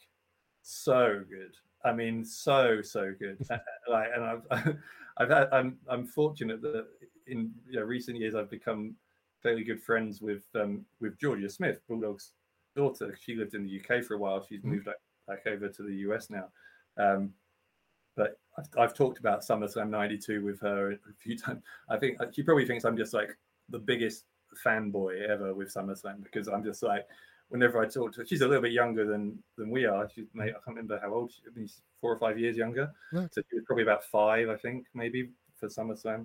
so good. I mean, so so good. Like, and I've I've had I'm I'm fortunate that in you know, recent years I've become fairly good friends with um with Georgia Smith, Bulldog's daughter. She lived in the U K for a while. She's moved back, back over to the U S now. Um, but I've, I've talked about SummerSlam ninety-two with her a few times. I think she probably thinks I'm just like the biggest fanboy ever with SummerSlam, because I'm just like, whenever I talk to her, she's a little bit younger than than we are. She's I can't remember how old she is. I mean, she's four or five years younger. Yeah. So she was probably about five, I think, maybe for SummerSlam.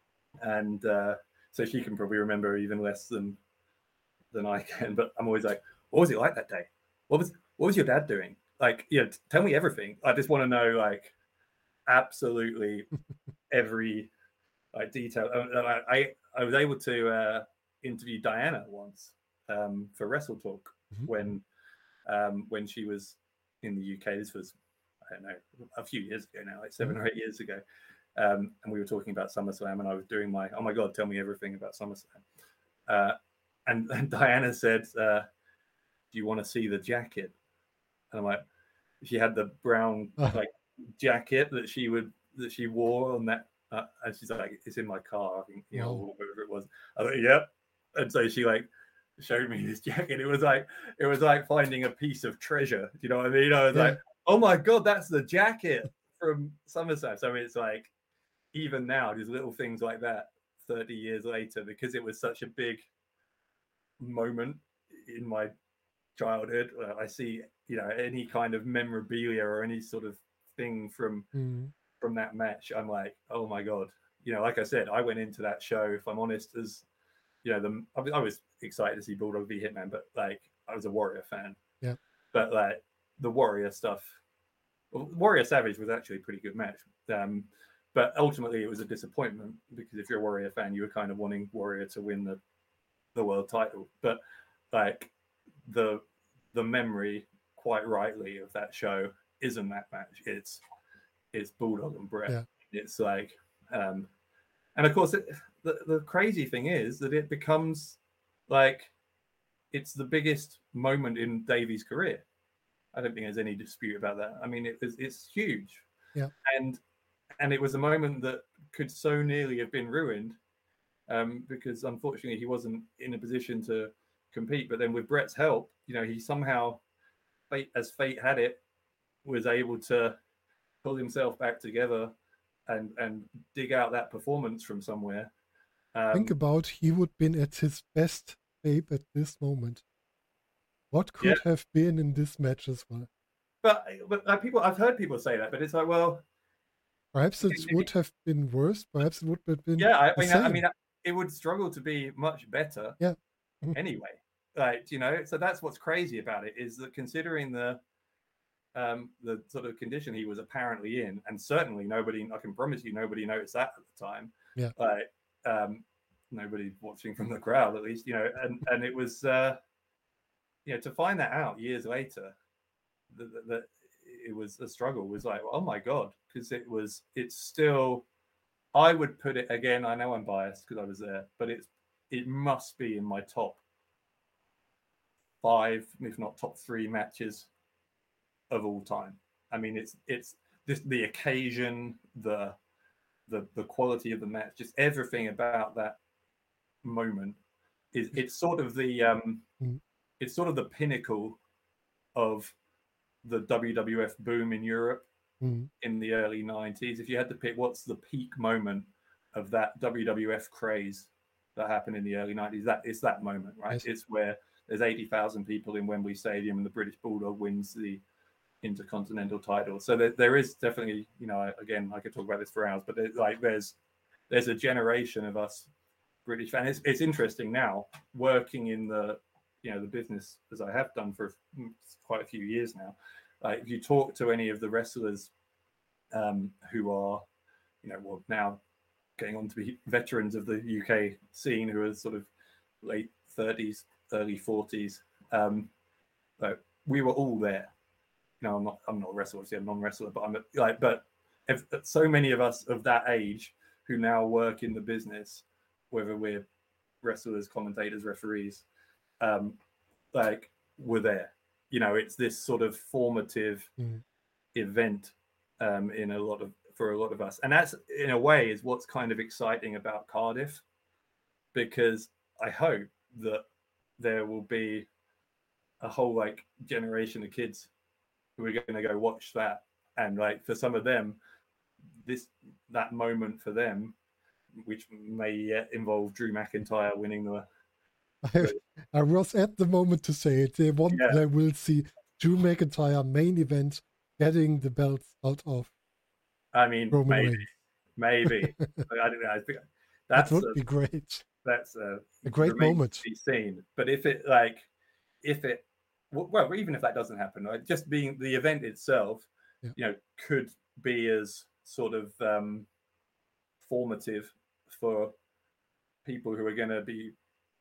And uh, so she can probably remember even less than than I can. But I'm always like, what was it like that day? What was what was your dad doing? Like, you know, t- tell me everything. I just want to know, like, absolutely every like detail. I I, I was able to uh, interview Diana once um, for Wrestle Talk mm-hmm. when um, when she was in the U K. This was, I don't know, a few years ago now, like seven mm-hmm. or eight years ago. Um, and we were talking about SummerSlam, and I was doing my, oh my God, tell me everything about SummerSlam. Uh, and, and Diana said, uh, do you want to see the jacket? And I'm like, she had the brown like jacket that she would, that she wore on that. Uh, and she's like, it's in my car, I think, you know, or whatever it was. I was like, yep. And so she like showed me this jacket. It was like, it was like finding a piece of treasure. Do you know what I mean? I was yeah. like, oh my God, that's the jacket from SummerSlam. So it's like, even now, there's little things like that thirty years later, because it was such a big moment in my childhood. I see, you know, any kind of memorabilia or any sort of thing from mm. from that match. I'm like, oh my God. You know, like I said, I went into that show, if I'm honest, as, you know, the I was excited to see Bulldog v Hitman, but like I was a Warrior fan. Yeah. But like the Warrior stuff, well, Warrior Savage was actually a pretty good match. Um, But ultimately, it was a disappointment, because if you're a Warrior fan, you were kind of wanting Warrior to win the, the world title. But like the the memory, quite rightly, of that show isn't that match. It's it's Bulldog and Brett. Yeah. It's like, um, and of course, it, the the crazy thing is that it becomes like it's the biggest moment in Davey's career. I don't think there's any dispute about that. I mean, it, it's it's huge. Yeah, and. And it was a moment that could so nearly have been ruined, um, because unfortunately he wasn't in a position to compete. But then with Brett's help, you know, he somehow, fate, as fate had it, was able to pull himself back together and and dig out that performance from somewhere. Um, Think about, he would been at his best shape at this moment. What could yeah. have been in this match as well? But but uh, people, I've heard people say that, but it's like, well. Perhaps it would have been worse. Perhaps it would have been. Yeah, I mean, I mean, it would struggle to be much better. Yeah. Anyway, like, you know, so that's what's crazy about it, is that considering the um the sort of condition he was apparently in, and certainly nobody, I can promise you, nobody noticed that at the time. Yeah. Like, um, nobody watching from the crowd, at least, you know, and and it was, uh, you know, to find that out years later, that, that it was a struggle was like, oh my God, because it was, it's still, I would put it again. I know I'm biased because I was there, but it's, it must be in my top five, if not top three matches of all time. I mean, it's, it's this, the occasion, the, the, the quality of the match, just everything about that moment is, it's sort of the, um, mm. it's sort of the pinnacle of the W W F boom in Europe mm. in the early nineties. If you had to pick what's the peak moment of that W W F craze that happened in the early nineties, that it's that moment, right? Yes. It's where there's eighty thousand people in Wembley Stadium and the British Bulldog wins the Intercontinental title. So there, there is definitely, you know, again, I could talk about this for hours, but there's, like there's there's a generation of us British fans. It's, it's interesting now working in the, you know, the business as I have done for quite a few years now. Like if you talk to any of the wrestlers um, who are, you know, well now getting on to be veterans of the U K scene, who are sort of late thirties, early forties, um, like we were all there. You know, I'm not, I'm not a wrestler, obviously I'm a non-wrestler, but I'm a, like, but if, so many of us of that age who now work in the business, whether we're wrestlers, commentators, referees, um, like were there. You know, it's this sort of formative mm. event um, in a lot of for a lot of us, and that's in a way is what's kind of exciting about Cardiff, because I hope that there will be a whole like generation of kids who are going to go watch that, and like for some of them, this that moment for them, which may uh, involve Drew McIntyre winning the. I, I was at the moment to say it. They want, yeah. they will see Drew McIntyre main event getting the belts out of. I mean, Roman maybe, Reigns. maybe. I don't know. I think that's that would a, be great. That's a, a great moment. To be seen. But if it like, if it, well, even if that doesn't happen, right, just being the event itself, yeah. you know, could be as sort of um, formative for people who are going to be.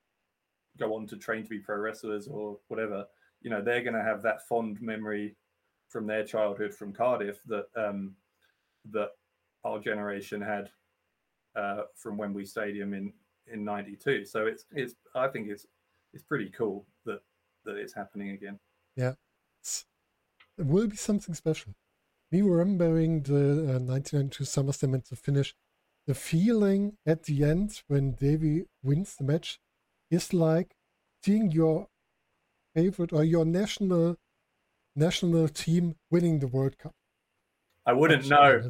Go on to train to be pro wrestlers or whatever, you know, they're going to have that fond memory from their childhood from Cardiff that um, that our generation had uh, from Wembley Stadium in in ninety-two. So it's it's I think it's it's pretty cool that that it's happening again. Yeah, it's, it will be something special. Me remembering the uh, nineteen ninety-two SummerSlam and the finish, the feeling at the end when Davey wins the match. Is like seeing your favorite or your national national team winning the World Cup. I wouldn't know.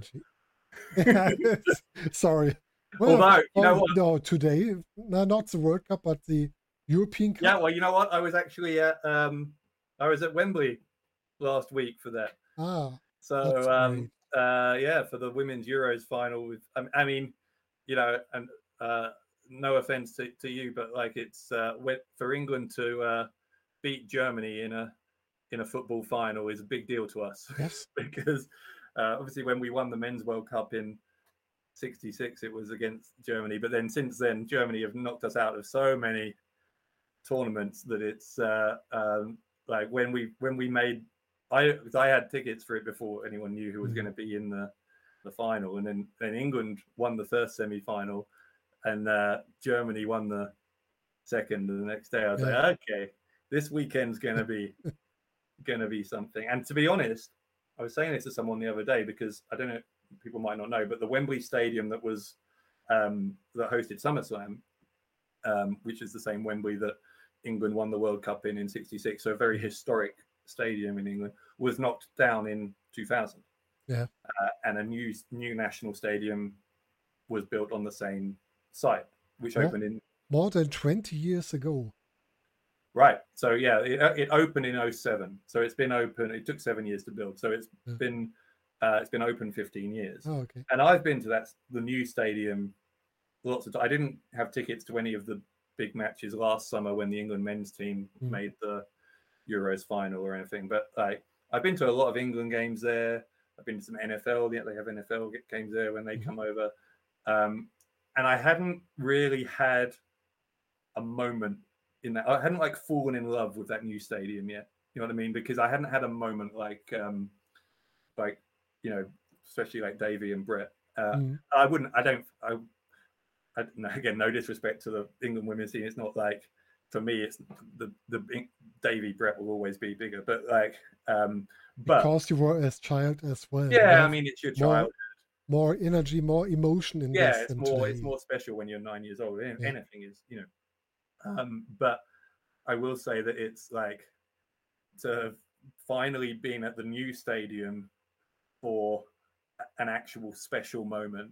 Sorry. Well, Although, you oh, know what? No, today, no, not the World Cup, but the European Cup. Yeah, well, you know what? I was actually at um, I was at Wembley last week for that. Ah. So um, uh, yeah, for the Women's Euros final. With I, I mean, you know, and. Uh, no offense to, to you, but like it's uh, for England to uh, beat Germany in a in a football final is a big deal to us. Yes, because uh, obviously when we won the Men's World Cup in sixty-six, it was against Germany. But then since then, Germany have knocked us out of so many tournaments that it's uh, um, like when we when we made I I had tickets for it before anyone knew who was mm. going to be in the the final, and then then England won the first semi-final. And uh, Germany won the second the next day. I was yeah. like, okay, this weekend's gonna be gonna be something. And to be honest, I was saying this to someone the other day because I don't know, people might not know, but the Wembley Stadium that was um, that hosted SummerSlam, um, which is the same Wembley that England won the World Cup in in sixty-six, so a very historic stadium in England, was knocked down in two thousand. Yeah, uh, and a new new national stadium was built on the same site, which yeah. opened in more than twenty years ago. Right. So yeah, it, it opened in oh seven. So it's been open. It took seven years to build. So it's yeah. been uh, it's been open fifteen years. Oh, okay. And I've been to that the new stadium lots of times. I didn't have tickets to any of the big matches last summer when the England men's team mm. made the Euros final or anything. But like I've been to a lot of England games there. I've been to some N F L. Yeah, they have N F L games there when they mm. come over. Um, And I hadn't really had a moment in that. I hadn't like fallen in love with that new stadium yet. You know what I mean? Because I hadn't had a moment like, um, like you know, especially like Davey and Brett. Uh, mm. I wouldn't. I don't. I, I. Again, no disrespect to the England women's team. It's not like for me. It's the the Davey Brett will always be bigger. But like, um, but because you were as child as well. Yeah, I mean, it's your more, childhood. More energy, more emotion in yeah, this. it's more. Today. It's more special when you're nine years old. Yeah. Anything is, you know. Um, but I will say that it's like to have finally been at the new stadium for an actual special moment.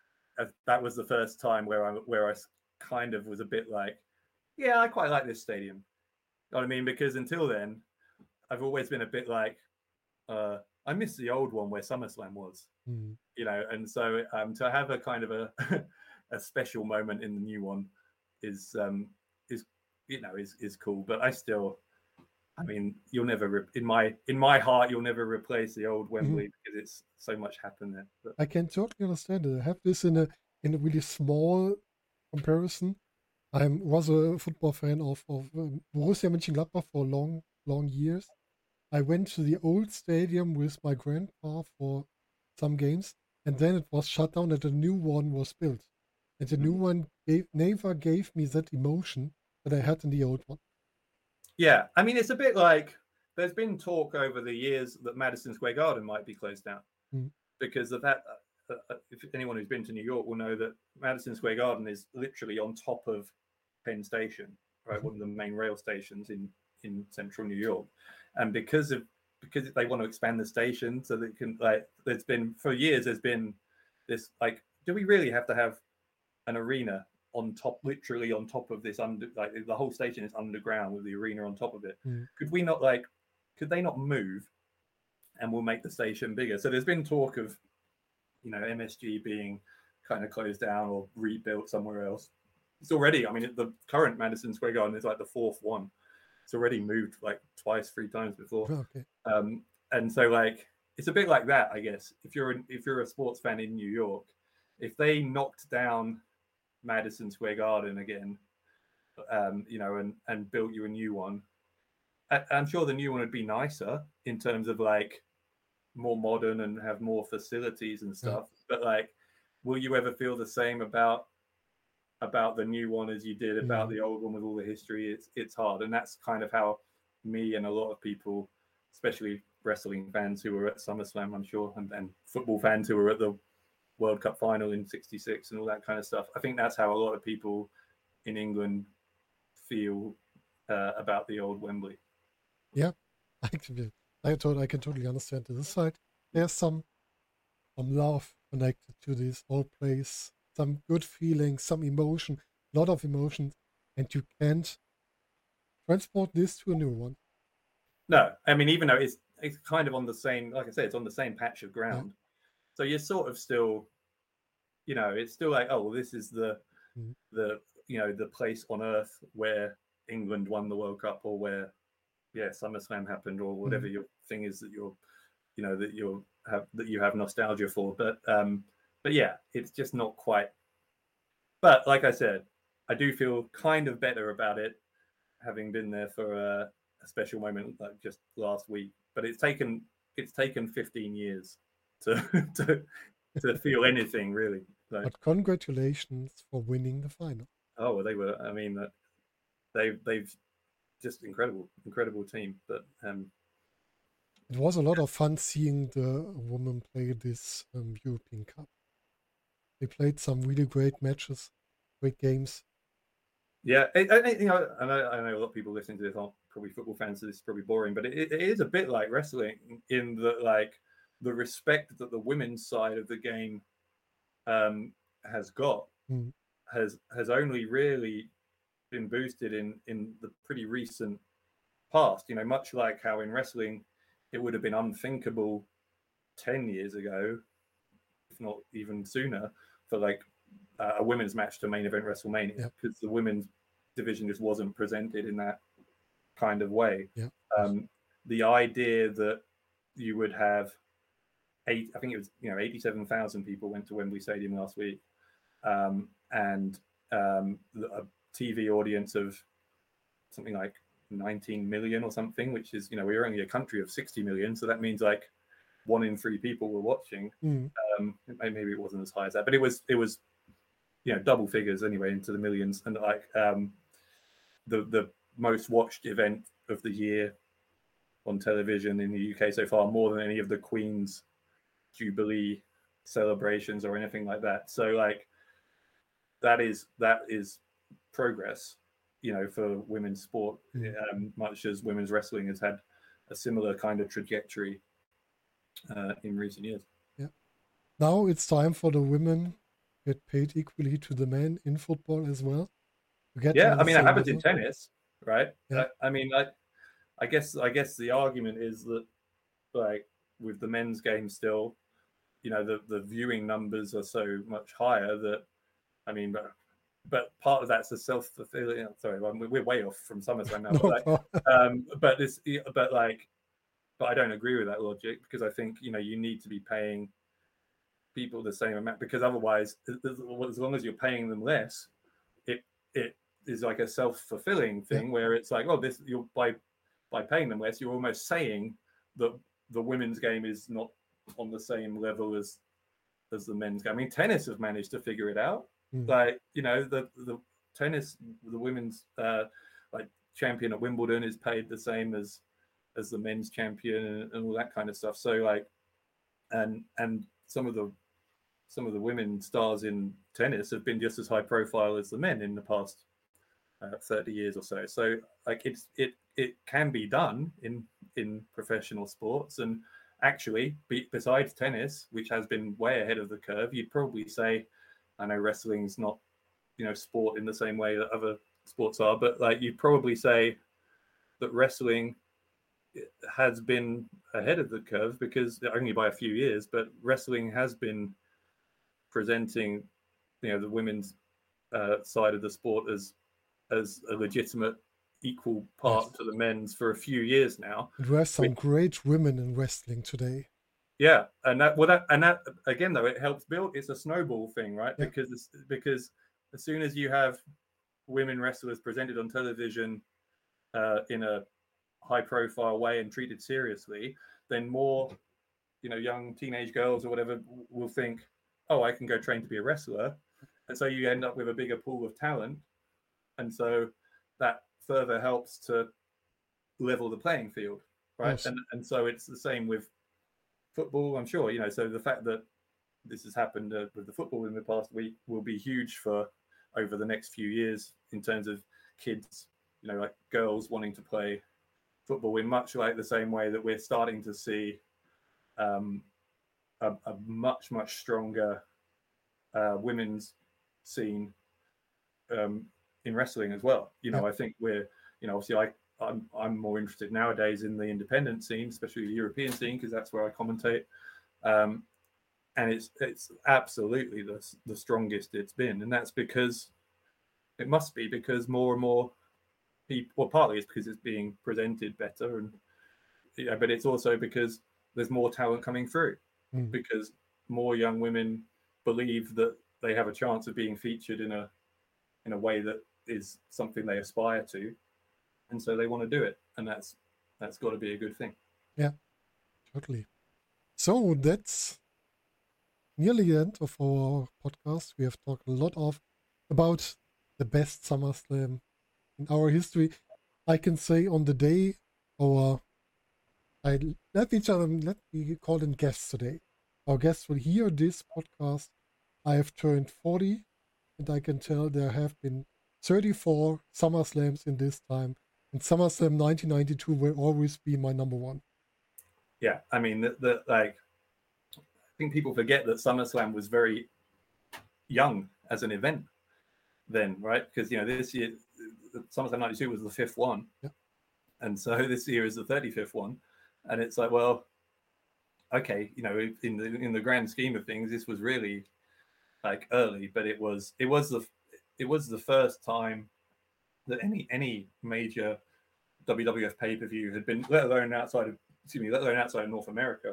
That was the first time where I where I kind of was a bit like, yeah, I quite like this stadium. You know what I mean? Because until then, I've always been a bit like, uh, I miss the old one where SummerSlam was. Mm. You know, and so um, to have a kind of a a special moment in the new one is um, is you know is is cool. But I still. I mean, you'll never re- in my in my heart, you'll never replace the old Wembley mm-hmm. because it's so much happened there. But... I can totally understand it. I have this in a in a really small comparison. I was a football fan of of um, Borussia Mönchengladbach for long long years. I went to the old stadium with my grandpa for some games, and then it was shut down, and a new one was built. And the mm-hmm. new one gave, never gave me that emotion that I had in the old one. Yeah, I mean, it's a bit like there's been talk over the years that Madison Square Garden might be closed down mm. because of that. Uh, uh, if anyone who's been to New York will know that Madison Square Garden is literally on top of Penn Station, right? Mm-hmm. One of the main rail stations in, in central New York. And because of because they want to expand the station so that can like there's been for years there's been this like, do we really have to have an arena on top, literally on top of this under, like the whole station is underground with the arena on top of it. Mm. Could we not like, could they not move and we'll make the station bigger? So there's been talk of, you know, M S G being kind of closed down or rebuilt somewhere else. It's already, I mean, the current Madison Square Garden is like the fourth one. It's already moved like twice, three times before. Oh, okay. Um, and so like, it's a bit like that, I guess. If you're, an, if you're a sports fan in New York, if they knocked down Madison Square Garden again, um, you know, and and built you a new one. I, I'm sure the new one would be nicer in terms of like more modern and have more facilities and stuff. Yeah. But like, will you ever feel the same about about the new one as you did about mm. the old one with all the history? It's it's hard, and that's kind of how me and a lot of people, especially wrestling fans who were at SummerSlam, I'm sure, and, and football fans who were at the World Cup final in sixty-six and all that kind of stuff. I think that's how a lot of people in England feel uh, about the old Wembley. Yeah, I can, I, I can totally understand this side. There's some, some love connected to this old place, some good feelings, some emotion, a lot of emotions, and you can't transport this to a new one. No, I mean, even though it's it's kind of on the same, like I said, it's on the same patch of ground. Yeah. So you're sort of still, you know, it's still like, oh, well, this is the, mm. the, you know, the place on earth where England won the World Cup or where, yeah, SummerSlam happened or whatever mm. your thing is that you're, you know, that you're have that you have nostalgia for. But, um, but yeah, it's just not quite. But like I said, I do feel kind of better about it, having been there for a, a special moment like just last week. But it's taken it's taken fifteen years. To, to to feel anything really. So, but congratulations for winning the final. Oh, well, they were. I mean, uh, they they've just incredible, incredible team. But um, it was a lot of fun seeing the women play this um, European Cup. They played some really great matches, great games. Yeah, it, I, you know, I know, I know a lot of people listening to this aren't probably football fans, so this is probably boring. But it, it is a bit like wrestling in that, like. The respect that the women's side of the game um, has got mm. has has only really been boosted in in the pretty recent past. You know, much like how in wrestling it would have been unthinkable ten years ago, if not even sooner, for like uh, a women's match to main event WrestleMania because yeah. the women's division just wasn't presented in that kind of way. Yeah. Um, the idea that you would have Eight, I think it was, you know, eighty-seven thousand people went to Wembley Stadium last week, um, and um, a T V audience of something like nineteen million or something, which is, you know, we're only a country of sixty million, so that means like one in three people were watching. Mm. Um, maybe it wasn't as high as that, but it was it was you know double figures anyway, into the millions, and like um, the the most watched event of the year on television in the U K so far, more than any of the Queen's Jubilee celebrations or anything like that. So like that is that is progress, you know, for women's sport, Mm. um, much as women's wrestling has had a similar kind of trajectory uh, in recent years. Yeah. Now it's time for the women to get paid equally to the men in football as well. To get Yeah, on I the mean, I same have it in level. tennis, right? Yeah. I, I mean, I, I guess, I guess the argument is that, like, with the men's game still, you know, the the viewing numbers are so much higher that, I mean, but but part of that's a self-fulfilling. Sorry, we're way off from SummerSlam now, No but like, problem. um, but this, but like, but I don't agree with that logic, because I think, you know, you need to be paying people the same amount, because otherwise, as long as you're paying them less, it it is like a self-fulfilling thing, yeah. where it's like, oh, this you're by by paying them less, you're almost saying that the women's game is not on the same level as as the men's game. I mean, tennis have managed to figure it out. Mm. Like, you know, the the tennis, the women's uh, like champion at Wimbledon is paid the same as as the men's champion, and, and all that kind of stuff. So like, and and some of the some of the women stars in tennis have been just as high profile as the men in the past uh, thirty years or so. So like, it's it it can be done in in professional sports. And actually, be, besides tennis, which has been way ahead of the curve, you'd probably say, I know wrestling's not, you know, sport in the same way that other sports are, but like, you'd probably say that wrestling has been ahead of the curve, because only by a few years, but wrestling has been presenting, you know, the women's uh, side of the sport as as a legitimate equal part yes. to the men's for a few years now. And we have some which, great women in wrestling today. Yeah, and that well, that and that again though, it helps build. It's a snowball thing, right? Yeah. Because it's, because as soon as you have women wrestlers presented on television uh, in a high-profile way and treated seriously, then more, you know, young teenage girls or whatever will think, oh, I can go train to be a wrestler. And so you end up with a bigger pool of talent. And so that further helps to level the playing field, right? Yes. And and so it's the same with football, I'm sure, you know, so the fact that this has happened uh, with the football in the past week will be huge for over the next few years in terms of kids, you know, like girls wanting to play football in much like the same way that we're starting to see um, a, a much, much stronger uh, women's scene um, in wrestling as well. You know, yeah. I think we're, you know, obviously I, I'm, I'm more interested nowadays in the independent scene, especially the European scene, because that's where I commentate. Um, and it's it's absolutely the, the strongest it's been. And that's because, it must be because more and more people, well, partly it's because it's being presented better, and yeah, but it's also because there's more talent coming through, mm. because more young women believe that they have a chance of being featured in a in a way that is something they aspire to, and so they want to do it, and that's that's got to be a good thing. Yeah, totally. So that's nearly the end of our podcast. We have talked a lot of about the best SummerSlam in our history. I can say on the day our I let each other let me call them guests today. Our guests will hear this podcast. I have turned forty, and I can tell there have been thirty-four SummerSlams in this time, and SummerSlam nineteen ninety-two will always be my number one. Yeah, I mean, the, the like, I think people forget that SummerSlam was very young as an event then, right? Because, you know, this year SummerSlam ninety-two was the fifth one, yeah. and so this year is the thirty-fifth one, and it's like, well, okay, you know, in the in the grand scheme of things, this was really like early, but it was it was the it was the first time that any any major W W F pay-per-view had been, let alone outside of excuse me, let alone outside of North America.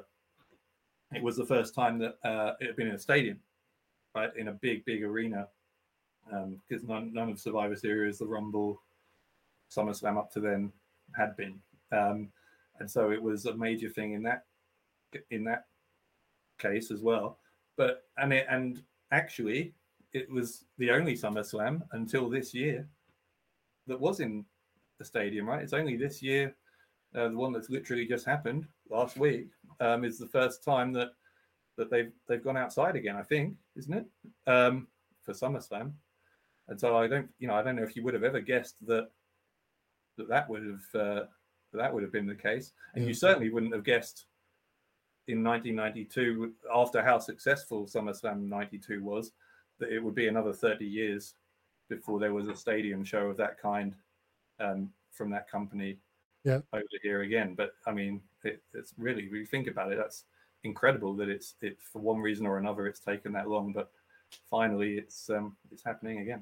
It was the first time that uh, it had been in a stadium, right, in a big big arena, because um, none none of Survivor Series, the Rumble, SummerSlam up to then had been. Um, and so it was a major thing in that in that case as well. But and it and actually it was the only SummerSlam until this year that was in the stadium, right? It's only this year, uh, the one that's literally just happened last week, um, is the first time that that they've they've gone outside again, I think, isn't it? Um, for SummerSlam. And so I don't, you know, I don't know if you would have ever guessed that that that would have uh, that would have been the case, and yeah. You certainly wouldn't have guessed in nineteen ninety-two, after how successful SummerSlam ninety-two was, that it would be another thirty years before there was a stadium show of that kind um, from that company yeah. over here again. But I mean, it, it's really, when you think about it, that's incredible that it's it for one reason or another it's taken that long, but finally it's um, it's happening again.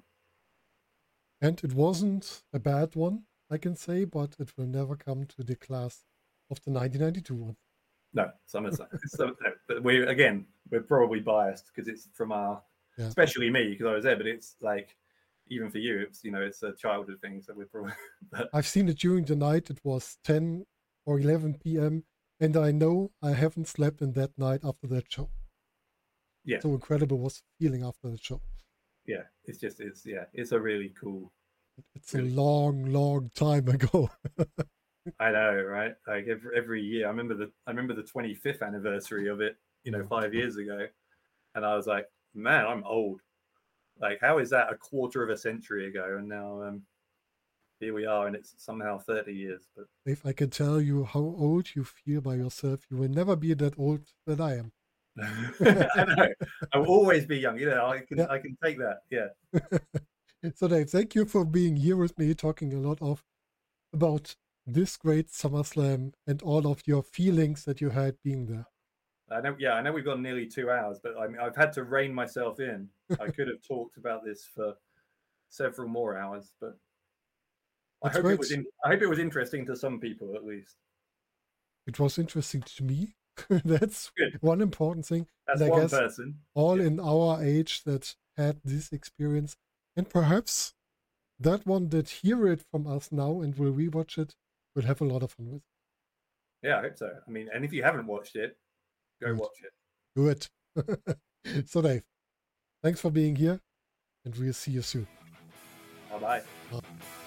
And it wasn't a bad one, I can say, but it will never come to the class of the nineteen ninety-two one. No, SummerSlam. so, no, but we again, we're probably biased because it's from our, yeah. especially me because I was there. But it's like, even for you, it's you know, it's a childhood thing. So we're probably. But... I've seen it during the night. It was ten or eleven p.m. and I know I haven't slept in that night after that show. Yeah. So incredible was the feeling after the show. Yeah, it's just it's yeah, it's a really cool. It's really... a long, long time ago. I know, right? Like every, every year, I remember the I remember the twenty-fifth anniversary of it, you know, five years ago, and I was like, man, I'm old. Like, how is that a quarter of a century ago? And now um, here we are, and it's somehow thirty years. But if I can tell you how old you feel by yourself, you will never be that old that I am. I know. I will always be young. You know, I can yeah. I can take that. Yeah. So Dave, thank you for being here with me, talking a lot of about this great SummerSlam and all of your feelings that you had being there. I know, yeah, I know we've got nearly two hours, but I mean, I've had to rein myself in. I could have talked about this for several more hours, but I hope it was. In, I hope it was interesting to some people, at least. It was interesting to me. That's good. One important thing. That's and I one guess person. All yeah. in our age that had this experience, and perhaps that one that hear it from us now and will rewatch it will have a lot of fun with it. Yeah, I hope so. I mean, and if you haven't watched it, go Good. watch it. Do it. So Dave, thanks for being here, and we'll see you soon. Bye-bye. Bye.